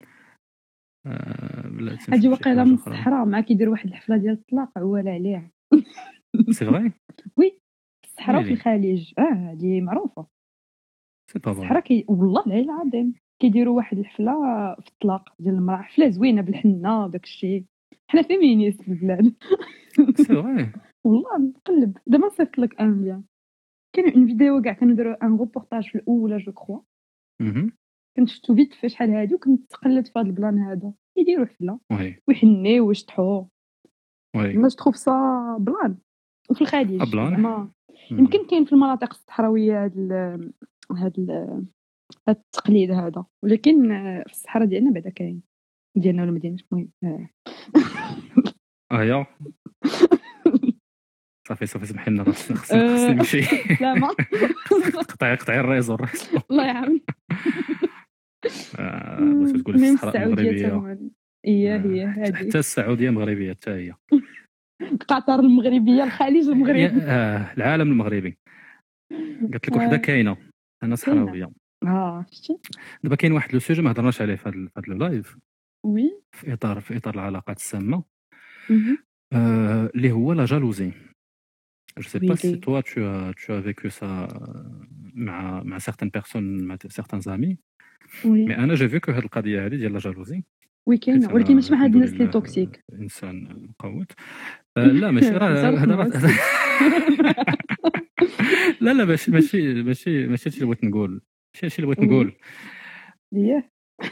هادي واقيلا من الصحراء مع كيدير واحد الحفله ديال الطلاق عوال عليها. سي فري وي الصحراء في الخليج اه هادي معروفه. سي با الصحراء كي والله العلي العظيم كيديروا واحد الحفله في الطلاق ديال المراه. حفله زوينه بالحنه داك الشيء. حنا فيمينيست في البلاد. سي فري والله نقلب دابا صيفط لك ان بيان. كاين اون فيديو كاع كانوا داروا ان روبورتاج في الاولى جو كرو. كنت شفتو فيت في شحال هادي وكنت تقلبت في هذا البلان هذا يديروا حفله ويحنيو ويشطحوا. وي ما تخوف صا بلان وفي الخليج زعما يمكن كاين في المناطق الصحراويه هذا هذا التقليد هذا ولكن في الصحراء ديالنا بعدا كاين ديالنا ولا مدينه المهم اه يا صافي صافي سمحي لنا خصني خصني نمشي. لا ما قطعي قطعي الريزو الله يعاون. بغيتي تقولي الصحراء المغربيه هي هي هذه حتى السعوديه مغربيه حتى هي. قطر المغربيه الخليج المغربي اه العالم المغربي. قلت لك وحده كاينه انا صحراويه. اه شتي دابا كاين واحد لو سوجي ما هضرناش عليه في هذا اللايف. وي في اطار في اطار العلاقات السامه اللي هو لا جالوزي. Je sais pas si toi tu as tu as vécu ça مع مع certaines personnes مع certains amis. وي mais انا j'ai vu que هاد القضيه هذه ديال لا جالوزي وي كاينه ولكن ماشي مع هاد الناس اللي توكسيك. انسان مقوت لا ماشي راه هذا لا لا ماشي ماشي ماشي ماشي اللي بغيت نقول ماشي هادشي اللي بغيت نقول. اييه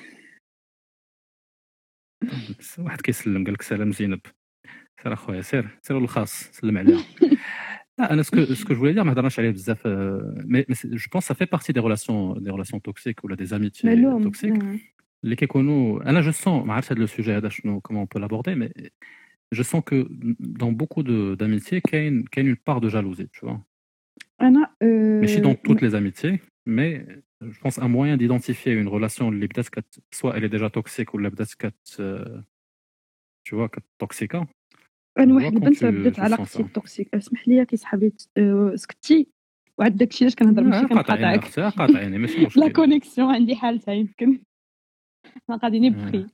واحد كيسلم قال لك سلام زينب. سير اخويا سير سير الخاص سلم عليها. لا انا سكو سكو جو dire ما هضرناش عليه بزاف مي جو بونس سا في بارتي دي ريلاسيون دي ريلاسيون توكسيك ولا دي زاميتي توكسيك اللي كيكونوا. انا جو سون ما عرفتش هذا لو سوجي هذا شنو كومون بو لابوردي مي جو سون كو دون بوكو دو d'amitié كاين كاين اون بار دو جالوزي tu vois. انا ماشي دون toutes les amitiés mais je pense un moyen d'identifier une relation اللي بدات كت soit elle est déjà toxique ولا بدات كت tu vois كت توكسيكا. انا واحد البنت بدات علاقتي توكسيك اسمح لي كيسحب لي سكتي وعاد داكشي علاش كنهضر ماشي كنقاطعك قاطعيني ماشي مشكل. لا كونيكسيون عندي حالتها يمكن ما قاعدين بخي.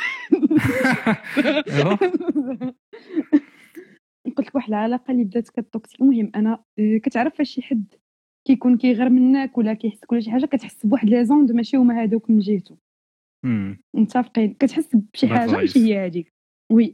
قلت لك واحد العلاقه اللي بدات كتوكسيك. المهم انا كتعرف فاش شي حد كيكون كيغير منك ولا كيحسك ولا شي حاجه كتحس بواحد لي زوند ماشي هما هذوك من جهته متفقين. كتحس بشي حاجه ماشي هي هذيك. وي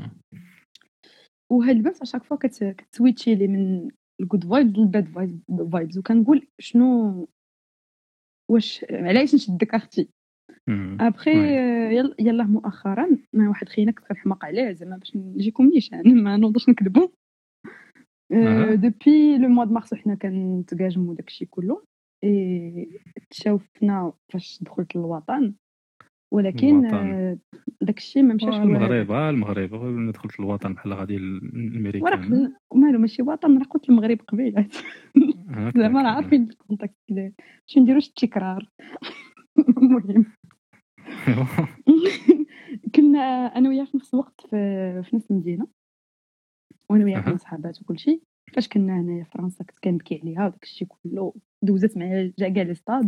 وهاد البنت اشاك فوا كتسويتشي لي من الجود فايبز للباد فايبز وكنقول شنو واش علاش نشدك اختي ابخي يلا يلا مؤخرا ما واحد خينا كنت كنحماق عليه زعما باش نجيكم نيشان ما نوضش نكذبوا دوبي لو موا د مارس حنا كنتقاجموا داكشي كله اي تشاوفنا فاش دخلت للوطن ولكن داكشي ما مشاش المغرب المغرب دخلت للوطن بحال غادي الامريكان مالو ماشي وطن راه قلت المغرب قبيله زعما راه عارفين الكونتاكت ديال باش نديروش التكرار المهم كنا انا وياه في نفس الوقت في, في نفس المدينه وانا وياه كنا صحابات وكل شيء فاش كنا هنايا في فرنسا كنت كنبكي عليها وداك الشيء كله دوزت معايا جا كاع لي ستاد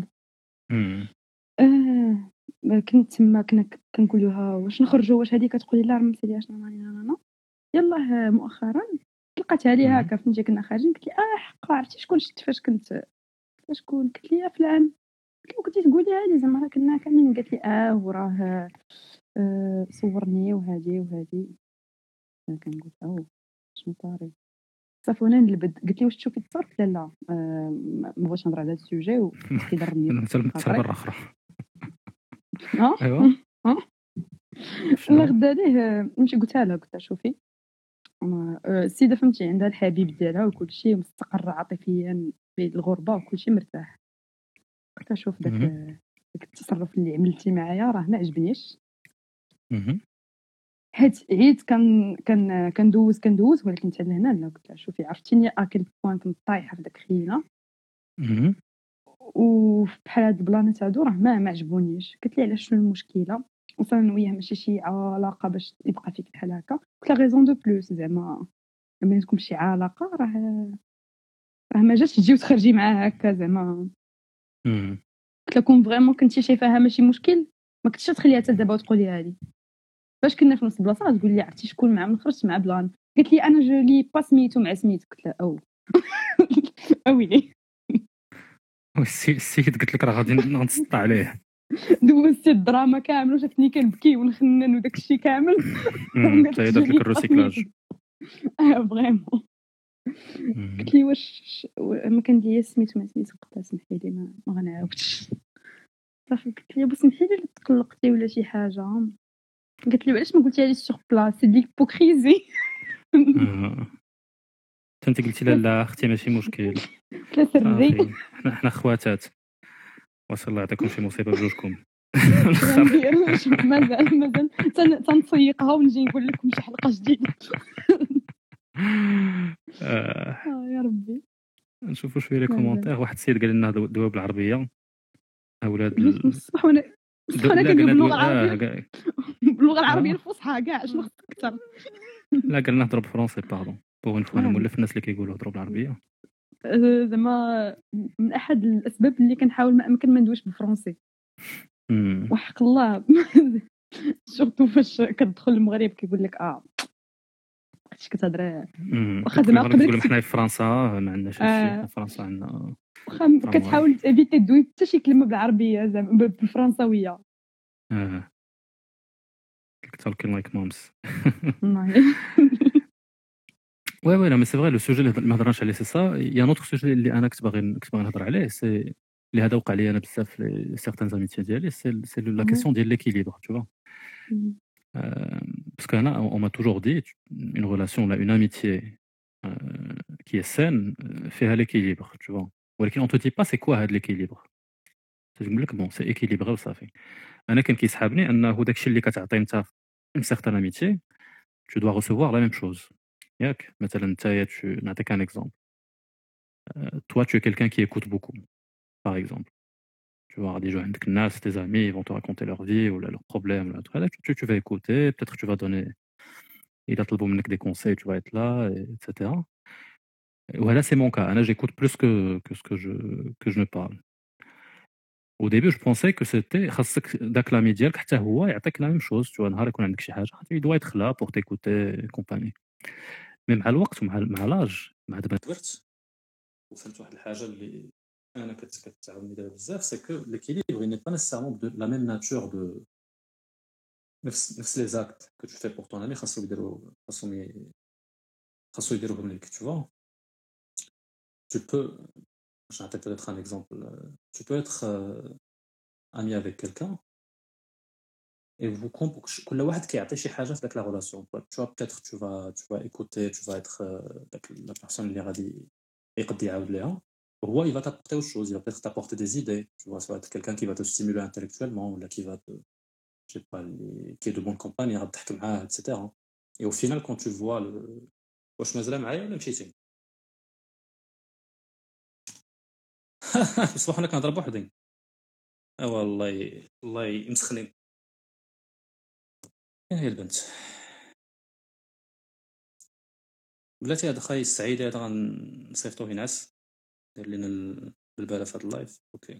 اه كنت تما كنا كنقول لها واش نخرجوا واش هذه كتقولي لا راه ما مسالياش انا انا يلاه مؤخرا لقيتها لي هكا فهمتي كنا خارجين قلت لي اه حقا عرفتي شكون شفت فاش كنت فاش كون قلت لي فلان كنتي تقوليها لي زعما راه كنا كاملين قالت لي اه وراه آه صورني وهذه وهذه كنقول او شنو طاري صافي وانا نلبد قلت لي واش تشوفي التصور قلت لا لا آه ما بغيتش نهضر على هذا السوجي وكيضرني مثلا مره اخرى اه ايوا اه لا غدا ليه مشي قلتها لها قلت شوفي السيده فهمتي عندها الحبيب ديالها وكل شيء مستقره عاطفيا في الغربه وكل شيء مرتاح قلت شوف داك داك التصرف اللي عملتي معايا راه ما عجبنيش حيت عيد كان كان كندوز كندوز ولكن حتى لهنا لا قلت شوفي عرفتيني اكل بوين كنت طايحه في داك خينا وبحال هاد البلان تاع دو راه ما ما عجبونيش قلت لي علاش شنو المشكله وصلنا وياه ماشي شي علاقه باش يبقى فيك بحال هكا قلت لا غيزون دو بلوس زعما ما بينكم شي علاقه راه راه ما جاتش تجي وتخرجي معاه هكا زعما قلت لكم فريمون كنتي شايفاها ماشي مشكل ما كنتش تخليها حتى دابا وتقوليها لي فاش كنا في نفس البلاصه تقول لي عرفتي شكون مع من خرجت مع بلان قالت لي انا جو لي با سميتو مع سميت قلت لها او اويلي السيد قلت لك راه غادي نسطع عليه دوزت الدراما كامل وشفتني كنبكي ونخنن وداك الشيء كامل حتى درت لك الريسيكلاج اه فريمون قلت لي واش ما كندير سميتو مع سميت قلت لها سمحي لي ما, ما غنعاودش صافي قلت لي سمحي لي تقلقتي ولا شي حاجه قلت لي علاش ما قلتيها لي سور بلاص سي ديك بوكريزي انت قلتي لا لا اختي ماشي مشكل لا سري حنا حنا خواتات وصل الله يعطيكم شي مصيبه بجوجكم مازال مازال تنسيقها ونجي نقول لكم شي حلقه جديده اه يا ربي نشوفوا شويه لي كومونتير واحد السيد قال لنا دوا بالعربيه اولاد بصح وانا بصح انا كندوي باللغه العربيه باللغه العربيه الفصحى كاع شنو خصك اكثر لا قال نهضر بالفرنسي باردون بوغ اون فوا انا مولف الناس اللي كيقولوا هضروا بالعربيه زعما من احد الاسباب اللي كنحاول ما امكن ما ندويش بالفرنسي وحق الله سورتو فاش كتدخل المغرب كيقول لك اه كنتي كتهضر واخا زعما قبل حنا في فرنسا ما عندناش شي في فرنسا عندنا واخا كتحاول تيفيتي دوي حتى شي كلمه بالعربيه زعما بالفرنساويه اه talking like moms وي وي لا مي سي فري لو سوجي اللي ما هضرناش عليه سي سا يا نوتر سوجي اللي انا كنت باغي كنت باغي نهضر عليه سي اللي هذا وقع لي انا بزاف في سيغتان زاميتي ديالي سي سي لا كيسيون ديال ليكيليبر tu vois parce que là on m'a toujours dit une relation là une amitié euh, qui est saine فيها l'équilibre tu vois ولكن on te dit pas c'est quoi هذا l'équilibre تقول لك bon c'est équilibré وصافي انا كان كيسحابني انه داكشي اللي كتعطي انت une certaine amitié tu dois recevoir la même chose ياك مثلا نتايا نعطيك un exemple euh, toi tu es quelqu'un qui écoute beaucoup par exemple tu vois غادي يجوا عندك الناس tes amis ils vont te raconter leur vie ou leurs problèmes ou truc tu, tu vas écouter peut-être que tu vas donner il a طلبوا منك des conseils tu vas être là et, etc voilà c'est mon cas انا j'écoute plus que que ce que je que je ne parle au début je pensais que c'était خاصك داك لامي ديالك حتى هو يعطيك la même chose tu vois نهار يكون عندك شي حاجه il doit être là pour t'écouter et compagnie mais مع الوقت ومع مع لاج مع دابا كبرت وفهمت واحد الحاجه اللي انا كتعاوني دابا بزاف سي كو ليكيليبر ني با نيسيسيرمون دو لا ميم ناتور دو نفس نفس لي زاكت كو تو في بور طون امي خاصو يديروا خاصهم خاصو يديروهم ليك tu vois tu peux je vais peut-être un exemple tu peux être euh, ami avec quelqu'un et vous comp- كل واحد كيعطي شي حاجه في داك لا relation. Tu vois, peut-être tu vas tu vas écouter, tu vas être euh, داك la personne اللي غادي يقدر يعاود ليها. هو il va t'apporter autre chose, il va peut-être t'apporter des idées, tu vois, ça va être quelqu'un qui va te stimuler intellectuellement ou là qui va te je sais pas les- qui est de bonne compagnie غادي تحكي معاه et cetera. Et au final quand tu vois le واش مازال معايا ولا مشيتي بصح انا كنهضر بوحدي اه والله والله مسخنين. فين هي البنت بلاتي هاد خاي السعيد هذا غنصيفطوه ينعس دير لينا ال- بالبالة في هاد اللايف. اوكي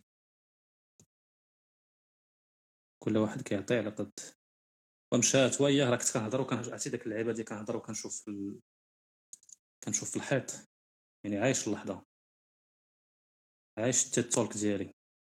كل واحد كيعطي على قد ومشات وياه راه كنت كنهضر وكنعطي داك اللعيبه ديال كنهضر وكنشوف في ال... كنشوف في الحيط يعني عايش اللحظه عايش التيت تولك ديالي.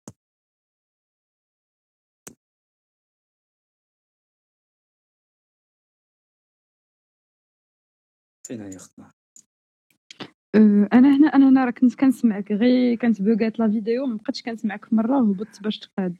فين هي اختنا أه، انا هنا انا هنا راه كنت كنسمعك غير كانت بوغات لا فيديو ما بقيتش كنسمعك في مره وهبطت باش تقاد.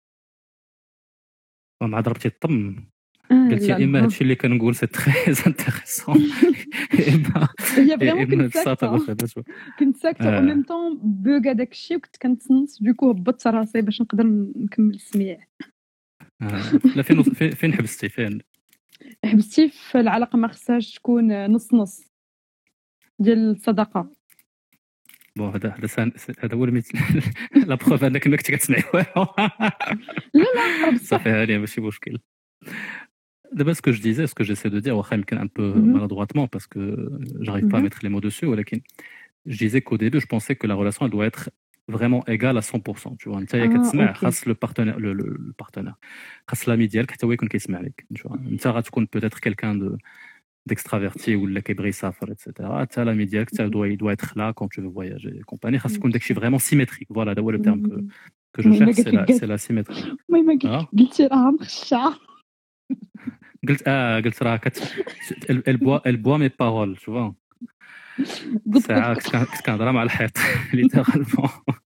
ومع ضربتي الطم اه قلت لا يا اما لا هادشي اللي كنقول سي تري انتريسون يا اما هي يا فريمون اما كنت بصاطه ما ساكته خداش. كنت ساكته او آه. ميم طون بوغا داك الشيء وكنت كنتصنت دوكو هبطت راسي باش نقدر نكمل السميع. آه. لا فين فين فين حبستي فين حبستي في العلاقه ما خصهاش تكون نص نص ديال الصداقه. بون هذا هذا سان- هذا هو الميت لا بروف انك ما كنت كتسمعي والو. لا لا راه بصح صافي هاني ماشي مشكل. D'abord, ce que je disais, ce que j'essaie de dire, واخا يمكن un peu مهم. maladroitement parce que j'arrive pas à مهم. mettre les mots dessus, ولكن je disais qu'au début, je pensais que la relation elle doit être vraiment égale à cent pour cent. Tu vois, انت يا اه كتسمع اوكي خاص le partenaire le le le partenaire خاص l'ami ديالك حتى هو يكون كيسمع لك. Tu vois, انت غتكون peut-être quelqu'un de d'extraverti ولا كيبغي يسافر et cetera. حتى l'ami ديالك حتى doit il doit être là quand tu veux voyager et compagnie. خاص يكون داكشي vraiment symétrique. Voilà, هذا هو le terme que مهم. que je المهم cherche, قالت c'est لك la c'est قالت la symétrie. المهم قالت اه لك قلتي راه مخشعه. قلت اه قلت راه كت elle elle boit elle boit mes paroles, tu vois. قط ساعة قط كنت كن- كنت كنهضر مع الحيط littéralement.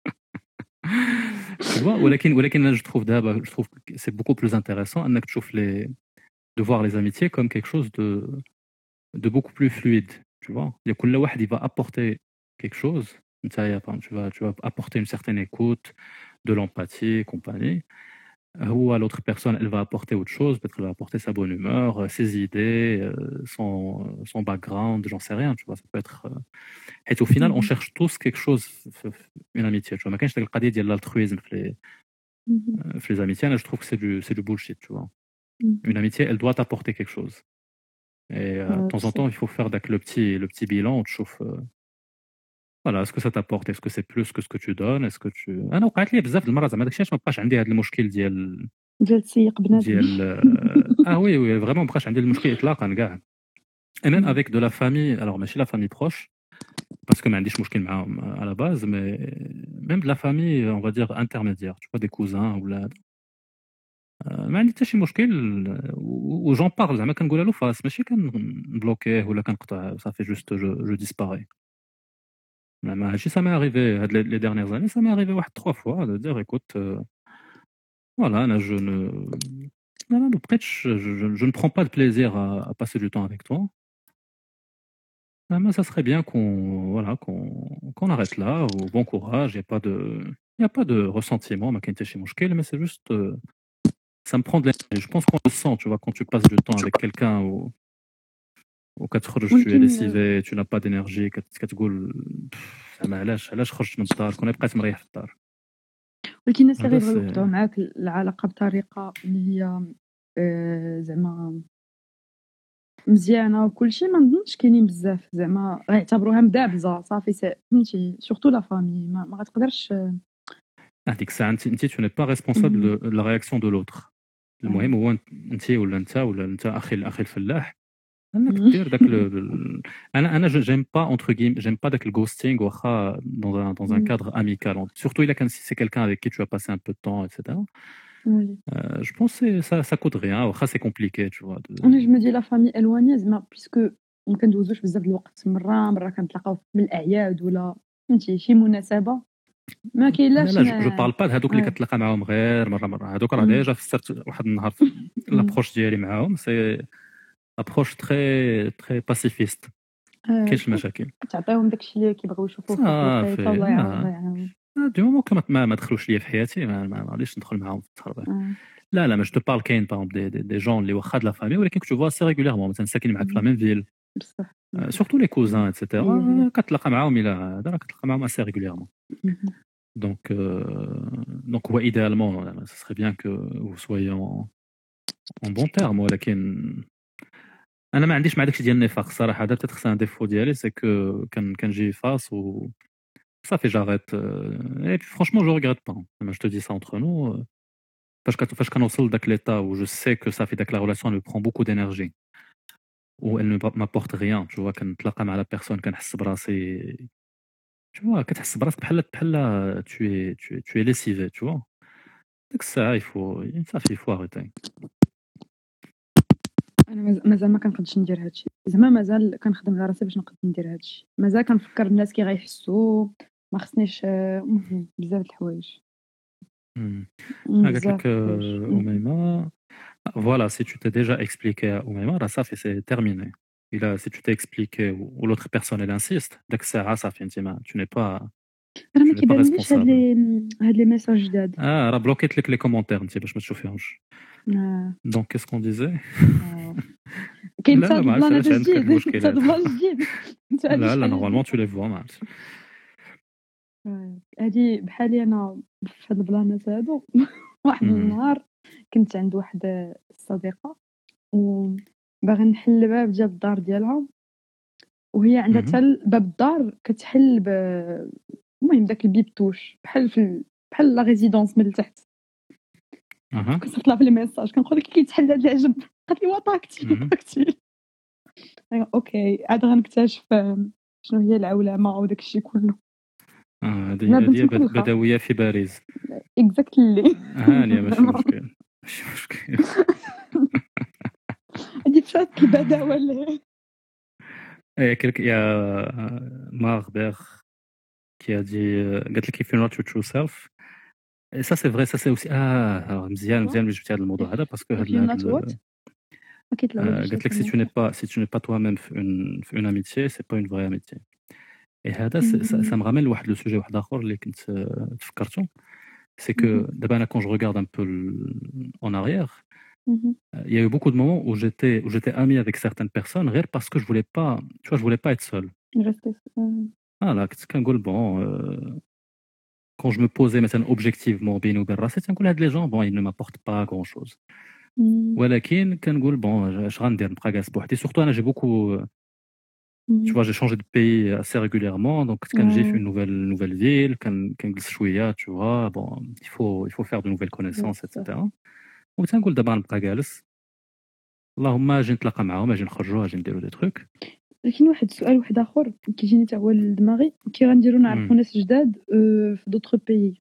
Tu vois, ولكن ولكن أنا je trouve دابا je trouve que c'est beaucoup plus intéressant انك تشوف les de voir les amitiés comme quelque chose de de beaucoup plus fluide, tu vois. Il y a كل واحد il va apporter quelque chose. نتايا par exemple, tu vas tu vas apporter une certaine écoute, de l'empathie et compagnie. Ou l'autre personne, elle va apporter autre chose, peut-être elle va apporter sa bonne humeur, euh, ses idées, euh, son, son background, j'en sais rien, tu vois, ça peut être... euh, Et au final, on مهم. cherche tous quelque chose, f- f- une amitié, tu vois. ما كاينش داك القضية ديال l'altruisme في les, مهم. euh, في les amitiés, là, je trouve que c'est du, c'est du bullshit, tu vois. مهم. Une amitié, elle doit t'apporter quelque chose. Et euh, de آه، temps en temps, بصح il faut faire داك le petit, le petit bilan, on te chauffe... euh, voilà, est-ce que ça t'apporte, est-ce que c'est plus que ce que tu donnes, est-ce que tu... انا وقعت لي بزاف د المرات زعما داكشي علاش ما بقاش عندي هذا المشكل ديال ديال تسيق بنادم. ديال آه ah oui oui vraiment ما بقاش عندي المشكل اطلاقا كاع. Et même avec de la famille, alors ماشي la famille proche parce que ما عنديش مشكل معاهم à la base, mais même de la famille on va dire intermédiaire, tu vois, des cousins ولا آه، ما عندي حتى شي مشكل. و j'en parle زعما كنقولها له فاس ماشي كنبلوكيه ولا كنقطع صافي juste je je disparais. زعما هادشي ça m'est arrivé هاد les les dernières années, ça m'est arrivé واحد trois fois de dire écoute euh, voilà أنا je ne non, non, après, je, je, je ne prends pas de plaisir à, à passer du temps avec toi. Ah, moi, ça serait bien qu'on voilà, qu'on qu'on arrête là. Ou bon courage, il n'y a pas de il y a pas de ressentiment, ma qualité chez Mouchkel, mais c'est juste euh, ça me prend de l'énergie. Je pense qu'on le sent, tu vois, quand tu passes du temps avec quelqu'un ou ou quand tu tu es ولكن lessivé, tu n'as pas d'énergie, quand tu تقول زعما علاش علاش خرجت من الدار كون بقيت مريح في الدار. ولكن الناس اللي هذا غيبغيو سي يوقعوا معاك العلاقه بطريقه اللي هي آه، زعما مزيانه وكلشي ما نظنش كاينين بزاف زعما غيعتبروها مدابزه صافي سي- فهمتي سورتو لا فامي ما, ما غتقدرش. هذيك الساعة انت انت tu n'es pas responsable مهم. de de la réaction de l'autre. المهم هو انت انت ولا انت ولا انت اخي الاخي الفلاح انك مهم. دير داك ال... ال- انا انا j'aime pas entre guillemets j'aime pas داك الghosting واخا dans un dans un مهم. cadre amical, surtout il a quand si c'est quelqu'un avec qui tu as passé un peu de temps et cetera. وي Euh, je pense que ça ça coûte rien واخا c'est compliqué, tu vois, de... انا جو مدي لا فامي الوانيه زعما بيسكو ما كندوزوش بزاف د الوقت مره مره كنتلاقاو من الاعياد ولا فهمتي شي مناسبه ما لا كاينلاش لا جو بارل با هذوك اللي آه. كتلاقى معاهم غير مره مره، هذوك راه مم. ديجا فسرت واحد النهار لابروش ديالي معاهم، سي ابروش تري تري باسيفيست، آه، كاينش المشاكل تعطيهم داكشي اللي كيبغيو يشوفوه في صافي. الوقيته الله يعاون الله آه. يعاون. دي مومون كما ما, ما دخلوش ليا في حياتي ما ما غاديش ندخل معاهم في التخربيق. آه. لا لا ما جو بارل كاين باغ دي دي, دي جون اللي واخا د لا فامي ولكن كنت فوا سي ريغوليرمون مثلا ساكنين معاك في لا ميم فيل، بصح سورتو لي كوزان هي ايتترا هي. كتلاقى معاهم الى هذا راه كتلاقى معاهم اسي ريغوليرمون. مهم. Donc, euh, donc ouais, idéalement, euh, ce serait bien que vous soyez en, en bon terme. ولكن انا ما عنديش مع داكشي ديال النفاق الصراحه، هذا peut-être c'est un défaut ديالي، c'est que كان كنجي فاس و صافي j'arrête euh, et puis franchement je regrette pas. Je te dis ça entre nous. euh, فاش كت- فاش كنوصل لذاك l'état où je sais que صافي داك la relation elle me prend beaucoup d'énergie ou elle ne m'apporte rien, tu vois, كنتلاقى مع la personne كنحس براسي tu vois كتحس براسك بحال بحال tu es tu es tu es lessivé, tu vois. ديك الساعه il faut صافي il faut arrêter. انا ماز- مازال ما كنقدش ندير هادشي، زعما مازال كنخدم على راسي باش نقد ندير هادشي، مازال كنفكر الناس كي غيحسوا، ما خصنيش آه، المهم بزاف د الحوايج. مم. مم، Ah, قالت بزاف لك د الحوايج. euh, مم. Oumaima, voilà, si tu t'es déjà expliqué à Oumaima, là, ça fait c'est terminé. Et là, si tu t'es expliqué ou, ou l'autre personne elle insiste, dès que ça, ça fait intima, tu n'es pas, راه tu ما n'es pas كيبانليش هاد responsable. لي هاد لي ميساج جداد. Ah, راه bloqué لك les commentaires, انت باش ما تشوفيهمش. آه. Donc, qu'est-ce qu'on disait? آه. كاين لا حتى لا هاد ما عرفتش البلانات علاش عندك هاد الجديد، المشكل حتى هاد هذا. البلان الجديد. حتى هادي لا لا شحال نورمالمون هادي. tu les vois ما عرفتش. آه. هادي بحالي انا في هاد البلانات هادو. واحد مم. النهار كنت عند واحد الصديقه وباغي نحل الباب ديال الدار ديالها، وهي عندها مهم. حتى باب الدار كتحل ب المهم داك البيبتوش بحال في ال- بحال لا ريزيدونس من التحت. اها كنصيفط لها في الميساج كنقول لك كيتحل هاد العجب، قالت لي وطاكتي مهم. طاكتي. اوكي عاد غنكتشف آم، شنو هي العولمه وداك الشيء كله. آه، هذه انا بنت هذه بد- مخلخه بدويه في باريس. اكزاكتلي. هانيه ماشي مشكل ماشي مشكل. هادي فات البداوه اللي Et quelqu'un- il y a euh, Marber qui a dit euh, قالت لك if you're not your true self. Et ça c'est vrai, ça c'est aussi ah alors, مزيان مزيان اللي جبتي هذا الموضوع هذا parce que if هاد you're هاد not what ال- ما كيطلعوليش آه، قالت لك si tu n'es pas si tu n'es pas toi-même في une في une amitié c'est pas une vraie amitié. Et هذا س- ça, ça me ramène لواحد لو سوجي واحد اخر اللي كنت آه، تفكرته. C'est que دابا انا quand je regarde un peu le- en arrière, il y a eu beaucoup de moments où j'étais où j'étais ami avec certaines personnes غير parce que je voulais pas tu vois je voulais pas être seul. Ah là كنت كنقول bon euh, quand je me posais مثلا objectivement بيني وبين راسي تنقول هاد لي جون bon ils ne m'apportent pas grand chose. ولكن كنقول bon اش غندير نبقى جالس بوحدي surtout انا j'ai beaucoup tu vois j'ai changé de pays assez régulièrement donc كنت كنجي في une nouvelle nouvelle ville كن كنجلس شويه tu vois bon il faut il faut faire de nouvelles connaissances et cetera. وتنقول دابا غنبقى جالس اللهم اجي نتلاقى معاهم اجي نخرجوا اجي نديروا دي تروك. لكن واحد السؤال واحد اخر كيجيني حتى هو لدماغي، كي غنديرو نعرفوا مم. ناس جداد آه، في دوطخ بيي.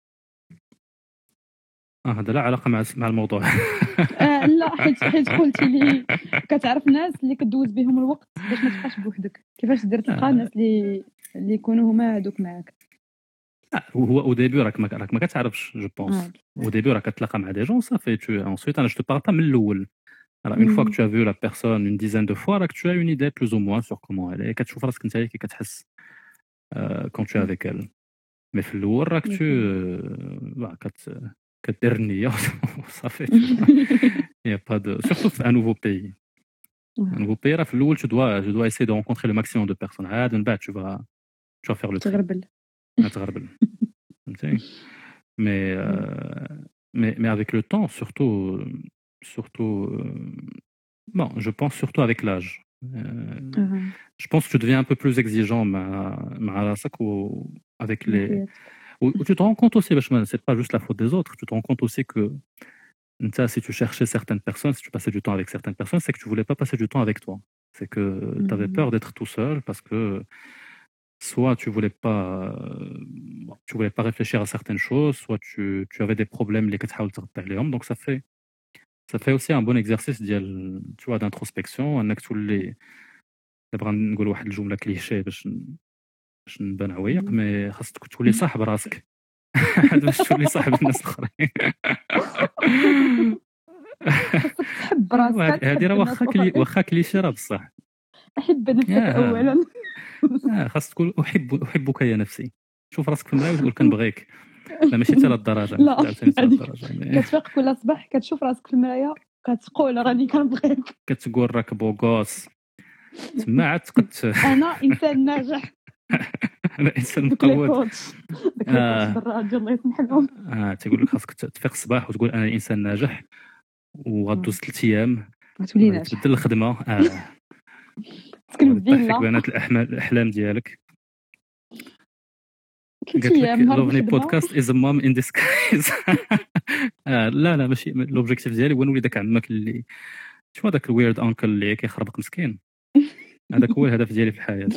اه هذا لا علاقه مع مع الموضوع. آه لا حيت حيت قلتي لي كتعرف ناس اللي كدوز بهم الوقت باش ما تبقاش بوحدك، كيفاش دير تلقى آه. ناس اللي اللي يكونوا هما هذوك معاك. آه، هو او ديبي راك ما راك ما كتعرفش جو بونس. آه. او ديبي راك كتلاقى مع دي جون صافي tu ensuite انا جو te parle pas من الاول. Alors une fois que مم. tu as vu la personne une dizaine de fois, là que tu as une idée plus ou moins sur comment elle est, كتشوف راسك نتايا كي كتحس euh, quand tu es avec elle. Mais في الأول راك tu euh, bah, كت كدير النية صافي. Il y a pas de surtout في un nouveau pays. Un nouveau pays راه في الأول tu dois tu dois essayer de rencontrer le maximum de personnes. عاد من بعد tu vas tu vas faire le tri. تغربل. تغربل. فهمتي؟ Mais euh, mais mais avec le temps surtout surtout euh, bon, je pense surtout avec l'âge. Euh, آه. je pense que tu deviens un peu plus exigeant مع مع راسك و avec les حياتك. où, où tu te rends compte aussi parce que c'est pas juste la faute des autres, tu te rends compte aussi que ça, si tu cherchais certaines personnes, si tu passais du temps avec certaines personnes, c'est que tu voulais pas passer du temps avec toi. C'est que tu avais Mhm. peur d'être tout seul parce que soit tu voulais pas euh, tu voulais pas réfléchir à certaines choses, soit tu, tu avais des problèmes les كتحاول تغطي عليهم. Donc ça fait ça fait aussi un bon exercice ديال tu vois d'introspection انك تولي دابا غنقول واحد الجمله كليشيه باش باش نبان عويق مي خاصك تولي صاحب راسك باش تولي صاحب الناس الاخرين. تحب راسك هذه راه واخا كلي واخا كليشي راه بصح. احب نفسك اولا. اه خاص تقول احب احبك يا نفسي. شوف راسك في المرايه وتقول كنبغيك. لا ماشي حتى لهالدرجه. لا كتفيق كل صباح كتشوف راسك في المرايه كتقول راني كنبغيك. كتقول راك بوغوس. تما عاد كت انا انسان ناجح. انا انسان مقود. اه الراجل الله يسمح لهم. اه تيقول لك خاصك تفيق الصباح وتقول انا انسان ناجح وغدوز ثلاث ايام غتولي ناجح تبدل الخدمه. اه تسكن في فيك بنات الاحلام الاحلام ديالك. قالت لك لوفني بودكاست از مام ان ديسكايز. لا لا ماشي لوبجيكتيف ديالي هو نولي داك عمك اللي شنو داك الويرد انكل اللي كيخربق مسكين. هذاك هو الهدف ديالي في الحياه.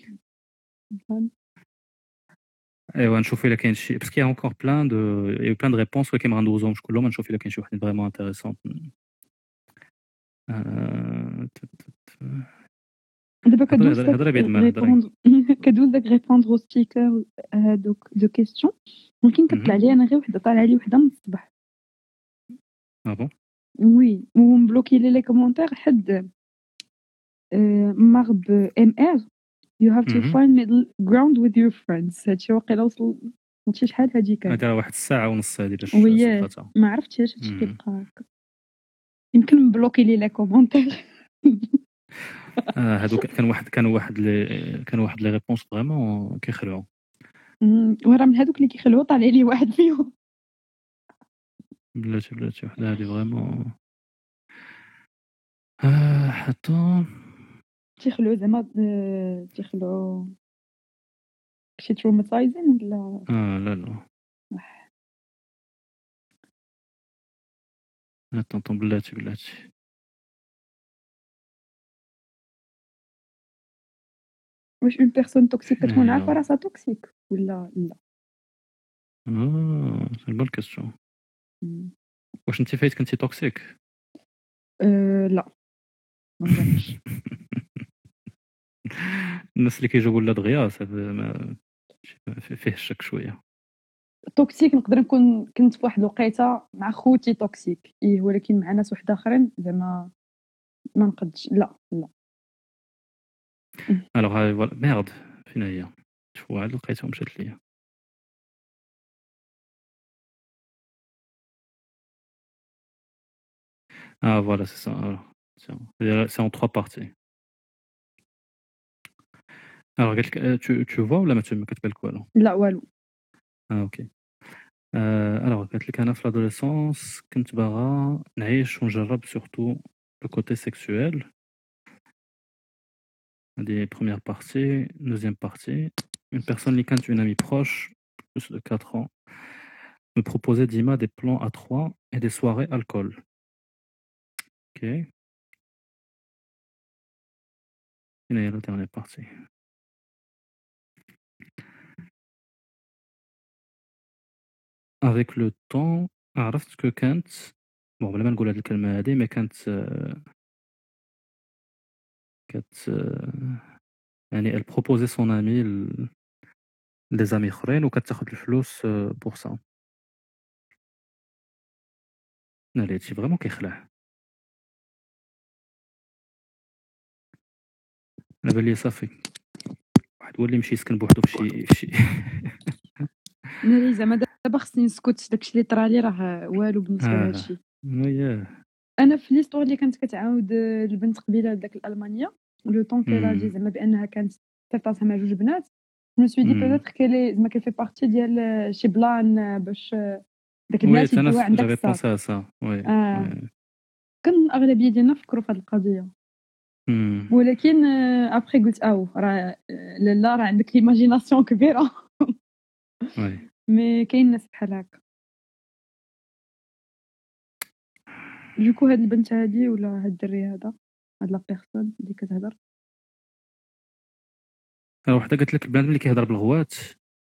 ايوا نشوف الا كاين شي باسكو يا انكور بلان دو يا بلان دو ريبونس ولكن ما غندوزهمش كلهم. نشوف الا كاين شي واحد فريمون انتريسون. دابا كدوز كدوز داك ريبوندر او ستيكر هادوك دو كيسيون ممكن كطلع لي انا غير وحده طالعه لي وحده من الصباح. اه بون وي ومبلوكي لي لي كومونتير حد مارب ام ار you have to find middle ground with your friends. هادشي واقيلا وصل شي شحال هاديك هذا واحد الساعه ونص هادي باش صفاتها ما عرفتش هادشي كيبقى هكا. يمكن مبلوكي لي لي كومونتير. اه هادوك كان واحد كان واحد لي كان واحد لي ريبونس فريمون كيخلعوا. وراه من هادوك اللي كيخلعوا طالع لي واحد فيهم. بلاتي بلاتي وحده هادي فريمون اه حتى تيخلعوا زعما تيخلعوا شي تروماتايزين ولا اه لا لا اتنطن بلاتي بلاتي واش اون بيرسون توكسيك كتكون عارفه راسها توكسيك ولا لا؟ اه سي بون كيسيون. واش انت فايت كنتي توكسيك؟ أه لا ما نظنش. الناس اللي كيجاوبوا لا دغيا ما فيه الشك شويه. توكسيك نقدر نكون كنت في واحد الوقيته مع خوتي توكسيك ايه ولكن مع ناس واحد اخرين زعما ما نقدش. لا لا الوغ هاي فوالا ميرد فين هي شوف واحد لقيتها مشات ليا. Ah voilà, c'est ça. Alors, c'est en trois parties. Alors, tu, tu vois ou là, tu me كتبان لك والو؟ لا والو. Ah ok. Euh, alors, قالت لك أنا في l'adolescence كنت باغا نعيش ونجرب surtout le côté sexuel. Des premières parties, deuxième partie. Une personne اللي كانت une amie proche, plus de quatre ans, me proposait Dima des plans à trois et des soirées alcool. Ok. Et là, il y a la dernière partie. Avec le temps, عرفت que كانت bon بلا ما نقول هاد الكلمة هادي mais كانت كانت يعني elle proposait son ami des amis اخرين وكتاخد الفلوس pour ça. لا هادشي فريمون كيخلع. انا بان لي صافي واحد هو اللي يمشي يسكن بوحدو فشي فشي. انا زعما دابا خصني نسكت داكشي اللي طرالي راه والو بالنسبه لهادشي. وياه انا في ليستوار اللي كانت كتعاود البنت قبيله داك الالمانيه لو طون كيلا زعما بانها كانت تفتح مع جوج بنات جو سوي دي بيتيتر كلي زعما كيفي بارتي ديال شي بلان باش داك البنات يجيو عندك الصاط. وي كان الاغلبيه ديالنا فكروا في هذه القضيه ولكن ابري قلت او راه لا راه عندك ليماجيناسيون كبيره. وي مي كاين ناس بحال هكا. جوكو هاد البنت هادي ولا هاد الدري هذا هاد لا بيرسون اللي كتهضر وحده قالت لك البنادم اللي كيهضر بالغوات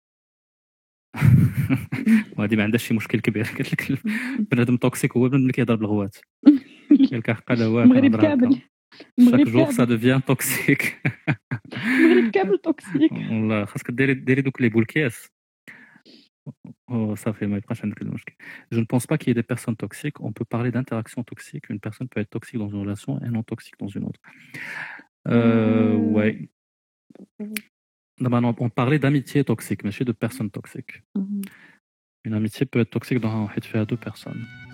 وهادي ما عندهاش شي مشكل كبير. قالت لك البنادم توكسيك هو البنادم اللي كيهضر بالغوات. قال لك حقا لا هو المغرب كامل chaque jour ça devient toxique. المغرب كامل توكسيك والله خاصك ديري ديري دوك لي بولكياس Oh, ça fait ma prochaine question. Je ne pense pas qu'il y ait des personnes toxiques. On peut parler d'interaction toxique. Une personne peut être toxique dans une relation et non toxique dans une autre. Euh, ouais. Non, on parlait d'amitié toxique, mais de personnes toxiques. Une amitié peut être toxique dans un fait à deux personnes.